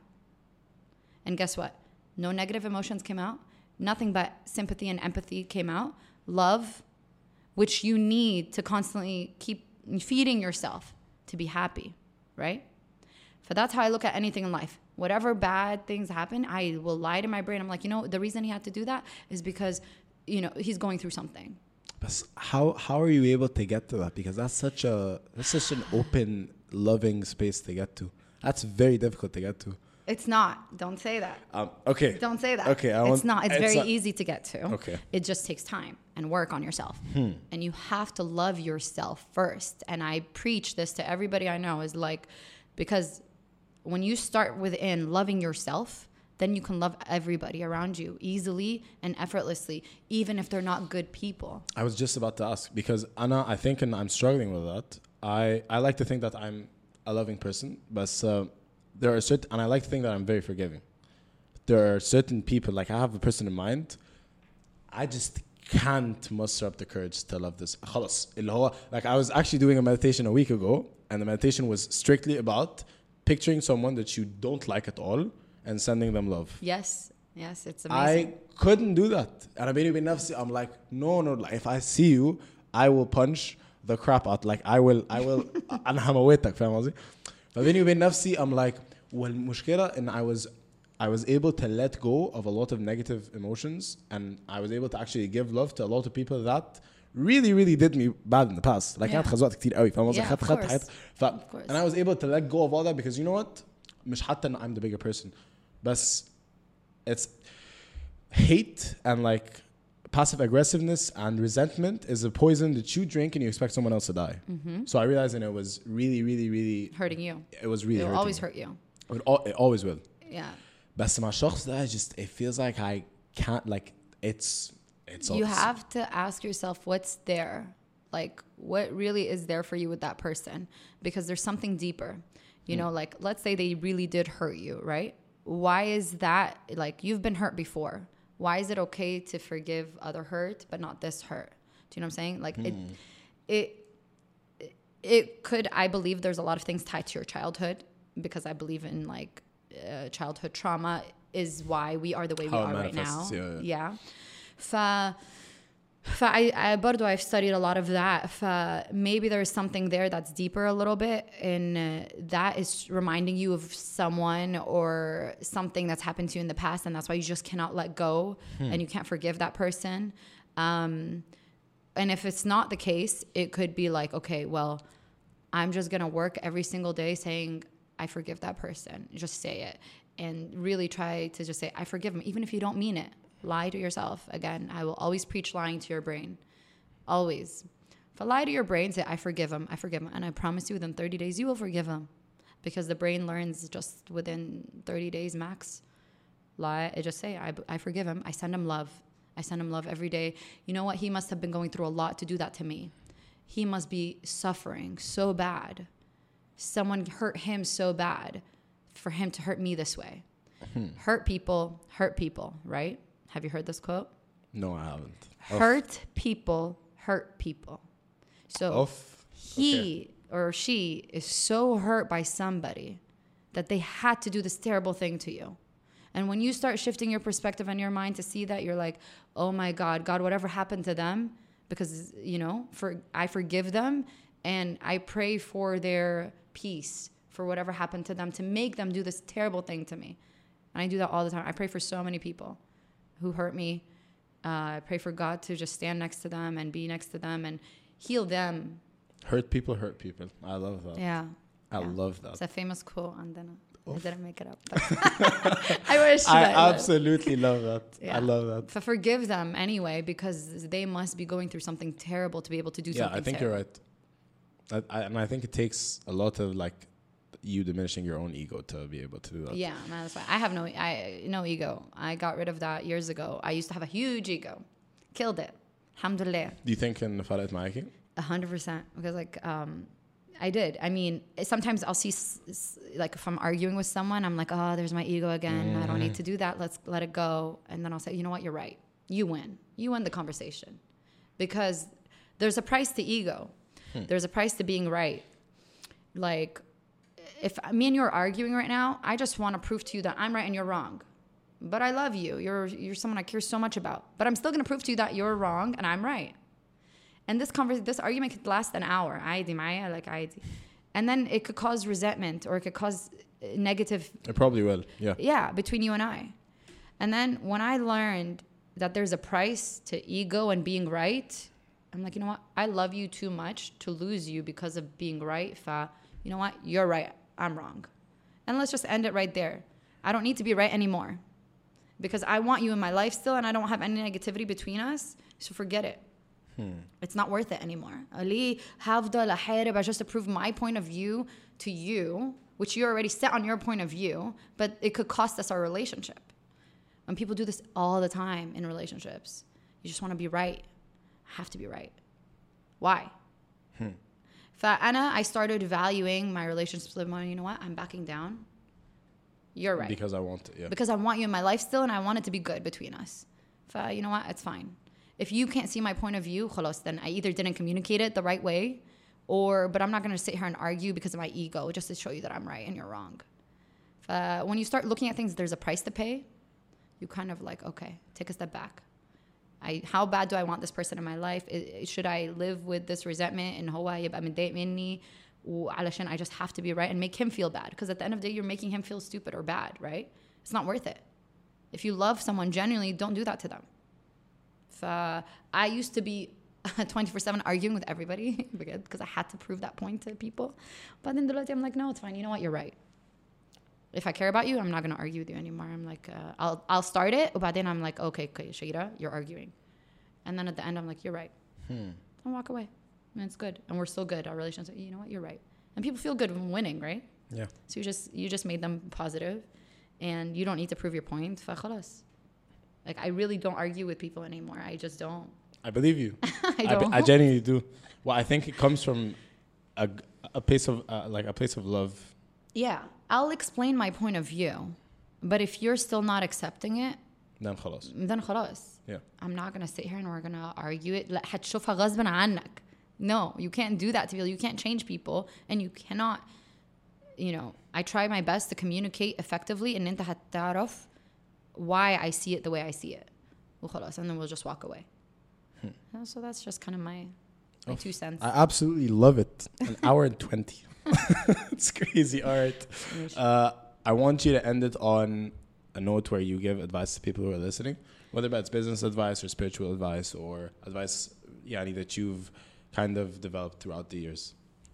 And guess what? No negative emotions came out. Nothing but sympathy and empathy came out. Love, which you need to constantly keep feeding yourself to be happy, right? So that's how I look at anything in life. Whatever bad things happen, I will lie to my brain. I'm like, the reason he had to do that is because, he's going through something. But how are you able to get to that? Because that's such an open, loving space to get to. That's very difficult to get to. It's not. Don't say that. Okay. Don't say that. Okay. It's not. It's very easy to get to. Okay. It just takes time and work on yourself. And you have to love yourself first. And I preach this to everybody I know, is like, because when you start within loving yourself, then you can love everybody around you easily and effortlessly, even if they're not good people. I was just about to ask, because Anna, I think, and I'm struggling with that. I like to think that I'm a loving person, but there are certain, and I like to think that I'm very forgiving. There are certain people, like I have a person in mind, I just can't muster up the courage to love this. خلاص اللي هو like I was actually doing a meditation a week ago, and the meditation was strictly about picturing someone that you don't like at all and sending them love. Yes, it's amazing. I couldn't do that. And I'm like, no, like, if I see you, I will punch the crap out. Like I will أنا هموتك فاهم قصدي؟ فبيني وبين نفسي I'm like والمشكلة إن I was able to let go of a lot of negative emotions, and I was able to actually give love to a lot of people that really did me bad in the past. Like كانت خزوات كتير قوي فاهم قصدي؟ خدت حياتي and I was able to let go of all that because you know what؟ مش حتى إن I'm the bigger person, بس it's hate and like passive aggressiveness and resentment is a poison that you drink and you expect someone else to die. So I realized that it was really hurting you. It was really It will hurting always me. hurt you. It always will. Yeah. بس مع الشخص ده it feels like I can't, like it's you have to ask yourself what's there, like what really is there for you with that person, because there's something deeper, you know, like let's say they really did hurt you, right? Why is that? Like you've been hurt before. Why is it okay to forgive other hurt but not this hurt? Do you know what I'm saying? Like it could, I believe there's a lot of things tied to your childhood, because I believe in like childhood trauma is why we are the way we are right now. Yeah. I برضو I've studied a lot of that. Maybe there's something there that's deeper a little bit, and that is reminding you of someone or something that's happened to you in the past, and that's why you just cannot let go and you can't forgive that person. And if it's not the case, it could be like, okay, well, I'm just gonna work every single day saying I forgive that person. Just say it and really try to just say I forgive him, even if you don't mean it. Lie to yourself. Again, I will always preach lying to your brain. Always. If I lie to your brain, say I forgive him. And I promise you within 30 days you will forgive him. Because the brain learns just within 30 days max. Lie, just say I forgive him. I send him love. I send him love every day. You know what? He must have been going through a lot to do that to me. He must be suffering so bad. Someone hurt him so bad for him to hurt me this way. Hurt people, right? Have you heard this quote? No, I haven't. Hurt people hurt people. So he or she is so hurt by somebody that they had to do this terrible thing to you. And when you start shifting your perspective and your mind to see that, you're like, oh my God, whatever happened to them, because, you know, I forgive them and I pray for their peace, for whatever happened to them, to make them do this terrible thing to me. And I do that all the time. I pray for so many people who hurt me. I pray for God to just stand next to them and be next to them and heal them. Hurt people. I love that. Yeah. I love that. It's a famous quote, and then I didn't make it up. I wish. I absolutely love that. Yeah. I love that. Forgive them anyway, because they must be going through something terrible to be able to do something. Yeah, I think terrible. you're right. And I think it takes a lot of like you diminishing your own ego to be able to do that. Yeah, man, that's why I have no ego. I got rid of that years ago. I used to have a huge ego. Killed it. Alhamdulillah. Do you think in فرقت معاكي? 100%. Because like I did. I mean, sometimes I'll see like if I'm arguing with someone, I'm like, oh, there's my ego again. I don't need to do that. Let's let it go. And then I'll say, you know what? You're right. You win. You win the conversation. Because there's a price to ego. There's a price to being right. Like, if me and you are arguing right now, I just want to prove to you that I'm right and you're wrong. But I love you. You're someone I care so much about. But I'm still going to prove to you that you're wrong and I'm right. And this argument could last an hour. And then it could cause resentment, or it could cause negative. It probably will. Yeah. Yeah, between you and I. And then when I learned that there's a price to ego and being right, I'm like, you know what? I love you too much to lose you because of being right. You know what? You're right. I'm wrong. And let's just end it right there. I don't need to be right anymore, because I want you in my life still, and I don't have any negativity between us. So forget it. It's not worth it anymore. I just to prove my point of view to you, which you already set on your point of view, but it could cost us our relationship. And people do this all the time in relationships. You just want to be right. I have to be right. Why? I started valuing my relationships a little more. You know what? I'm backing down. You're right. Because I want it, yeah. Because I want you in my life still, and I want it to be good between us. You know what? It's fine. if you can't see my point of view, خلاص, then I either didn't communicate it the right way, but I'm not going to sit here and argue because of my ego just to show you that I'm right and you're wrong. When you start looking at things, there's a price to pay. You kind of like, okay, take a step back. How bad do I want this person in my life? Should I live with this resentment and هو يبقى متضايق مني وعلشان I just have to be right and make him feel bad? Because at the end of the day, you're making him feel stupid or bad, right? It's not worth it. If you love someone genuinely, don't do that to them. I used to be 24/7 arguing with everybody because I had to prove that point to people. But then I'm like, no, it's fine. You know what? You're right. If I care about you, I'm not going to argue with you anymore. I'm like, I'll start it. But then I'm like, okay, Shaira, you're arguing. And then at the end, I'm like, you're right. I'll walk away. And it's good. And we're still good. Our relationship, you know what? You're right. And people feel good when winning, right? Yeah. So you just made them positive. And you don't need to prove your point. فخلاص. Like, I really don't argue with people anymore. I just don't. I believe you. I don't. I genuinely do. Well, I think it comes from a place of a place of love. Yeah, I'll explain my point of view, but if you're still not accepting it, then خلاص. Yeah. I'm not gonna sit here and we're gonna argue it. لا هتشوفها غصبا عنك. No, you can't do that to people. You can't change people, and you cannot. I try my best to communicate effectively, and أنت هتعرف why I see it the way I see it. وخلاص, and then we'll just walk away. So that's just kind of my 2 cents. I absolutely love it. An hour and 20. It's crazy. All right. I want you to end it on a note where you give advice to people who are listening, whether that's business advice or spiritual advice or advice that you've kind of developed throughout the years.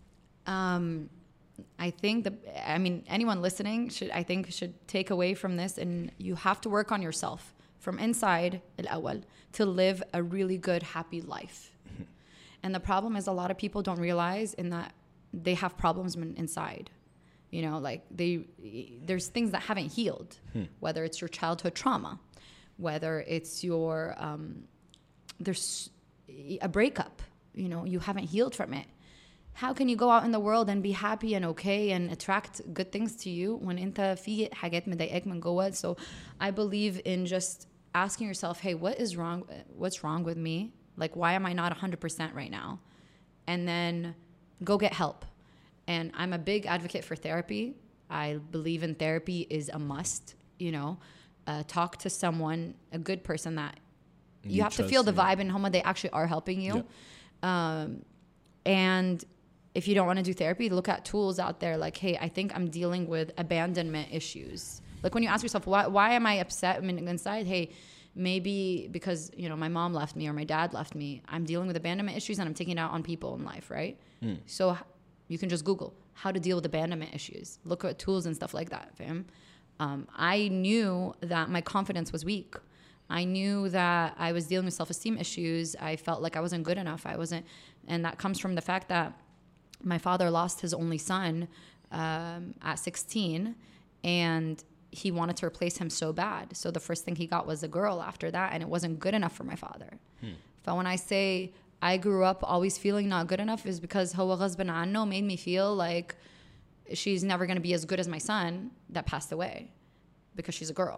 I think anyone listening should take away from this, and you have to work on yourself from inside الأول to live a really good, happy life. And the problem is a lot of people don't realize in that they have problems inside. Like there's things that haven't healed, whether it's your childhood trauma, whether it's your, there's a breakup, you haven't healed from it. How can you go out in the world and be happy and okay and attract good things to you when انت في حاجات مضايقاك من جوه? So I believe in just asking yourself, hey, what's wrong with me? Like, why am I not 100% right now? And then go get help. And I'm a big advocate for therapy. I believe in therapy is a must, talk to someone, a good person that you have to feel the vibe and how much they actually are helping you. Yeah. And if you don't want to do therapy, look at tools out there like, hey, I think I'm dealing with abandonment issues. Like when you ask yourself, why am I upset inside? Hey, maybe because, my mom left me or my dad left me. I'm dealing with abandonment issues and I'm taking it out on people in life, right? So you can just Google how to deal with abandonment issues. Look at tools and stuff like that, fam. I knew that my confidence was weak. I knew that I was dealing with self-esteem issues. I felt like I wasn't good enough. And that comes from the fact that my father lost his only son at 16, and he wanted to replace him so bad. So the first thing he got was a girl after that, and it wasn't good enough for my father. But when I say I grew up always feeling not good enough is because هو غصب عنه made me feel like she's never going to be as good as my son that passed away because she's a girl.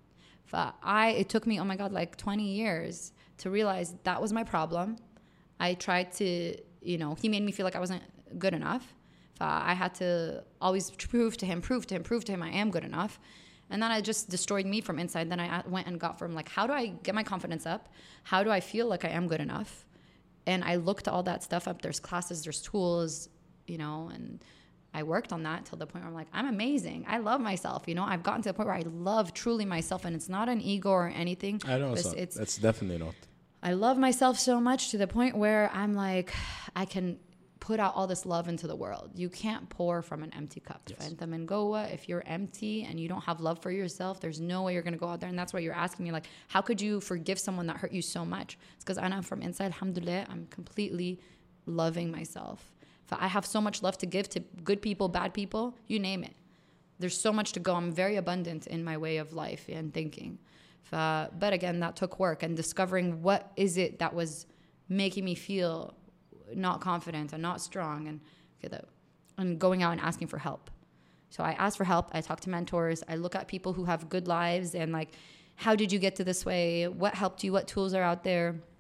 It took me, oh my God, like 20 years to realize that was my problem. I tried to, he made me feel like I wasn't good enough. I had to always prove to him I am good enough. And then it just destroyed me from inside. Then I went and got from like, how do I get my confidence up? How do I feel like I am good enough? And I looked all that stuff up. There's classes, there's tools, and I worked on that till the point where I'm like, I'm amazing. I love myself. I've gotten to the point where I love truly myself, and it's not an ego or anything. I know that's definitely not. I love myself so much to the point where I'm like, I can put out all this love into the world. You can't pour from an empty cup. Yes. If you're empty and you don't have love for yourself, there's no way you're going to go out there. And that's why you're asking me, like, how could you forgive someone that hurt you so much? It's because I'm from inside, alhamdulillah, I'm completely loving myself. I have so much love to give to good people, bad people, you name it. There's so much to go. I'm very abundant in my way of life and thinking. But again, that took work and discovering what is it that was making me feel not confident and not strong and going out and asking for help. So I ask for help. I talk to mentors. I look at people who have good lives and like, how did you get to this way? What helped you? What tools are out there?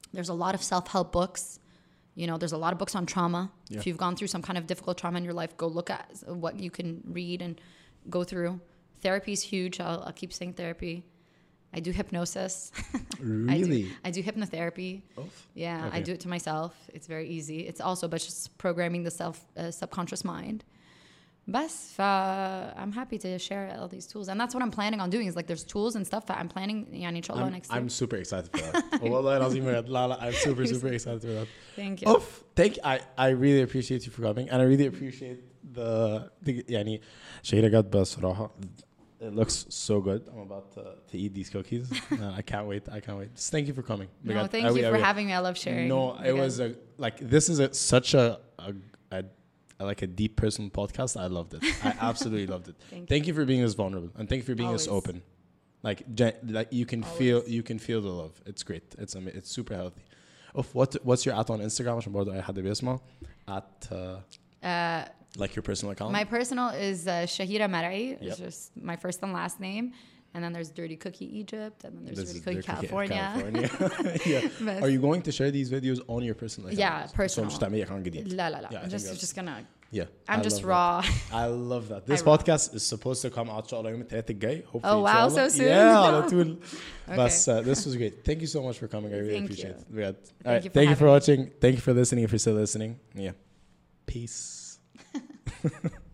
There's a lot of self-help books. You know, there's a lot of books on trauma. Yeah. If you've gone through some kind of difficult trauma in your life, go look at what you can read and go through. Therapy is huge. I'll keep saying therapy. I do hypnosis. Really? I do hypnotherapy. Oof. Yeah, Okay. I do it to myself. It's very easy. It's also but just programming the subconscious mind. بس I'm happy to share all these tools, and that's what I'm planning on doing. Is like there's tools and stuff that I'm planning. يعني إن شاء الله next year. I'm super excited for that. والله العظيم بجد. لا لا, I'm super excited for that. Thank you. Oof. I really appreciate you for coming, and I really appreciate the يعني شهيرة جد بصراحة. It looks so good. I'm about to eat these cookies. I can't wait. Just thank you for coming. No, thank you for having me. I love sharing. No, it was this is such a like a deep personal podcast. I loved it. I absolutely loved it. Thank you for being this vulnerable, and thank you for being this Always. open. Like you can feel the love. It's great. It's super healthy. What's your @ on Instagram? عشان برضو أي حد بيسمع @ like your personal account. My personal is Shahira Mar'i. It's Yep. just my first and last name. And then there's Dirty Cookie Egypt. And then there's This Dirty is Cookie Dirty California. Yeah. Are you going to share these videos on your personal account? Yeah, personal. So مش تعملي account جديد. لا لا Yeah, I لا. think that's- Just gonna. Yeah. I'm I just love raw. that. I love that. This I podcast is supposed to come out إن شاء الله يوم الثلاث الجاي. Hopefully Oh, إن wow, شاء الله. so soon. Yeah, على طول. Okay. But this was great. Thank you so much for coming. I really Thank appreciate you. it. بجد. Thank All right. you for Thank you for having me. watching. Thank you for listening. If you're still listening. Yeah. Peace.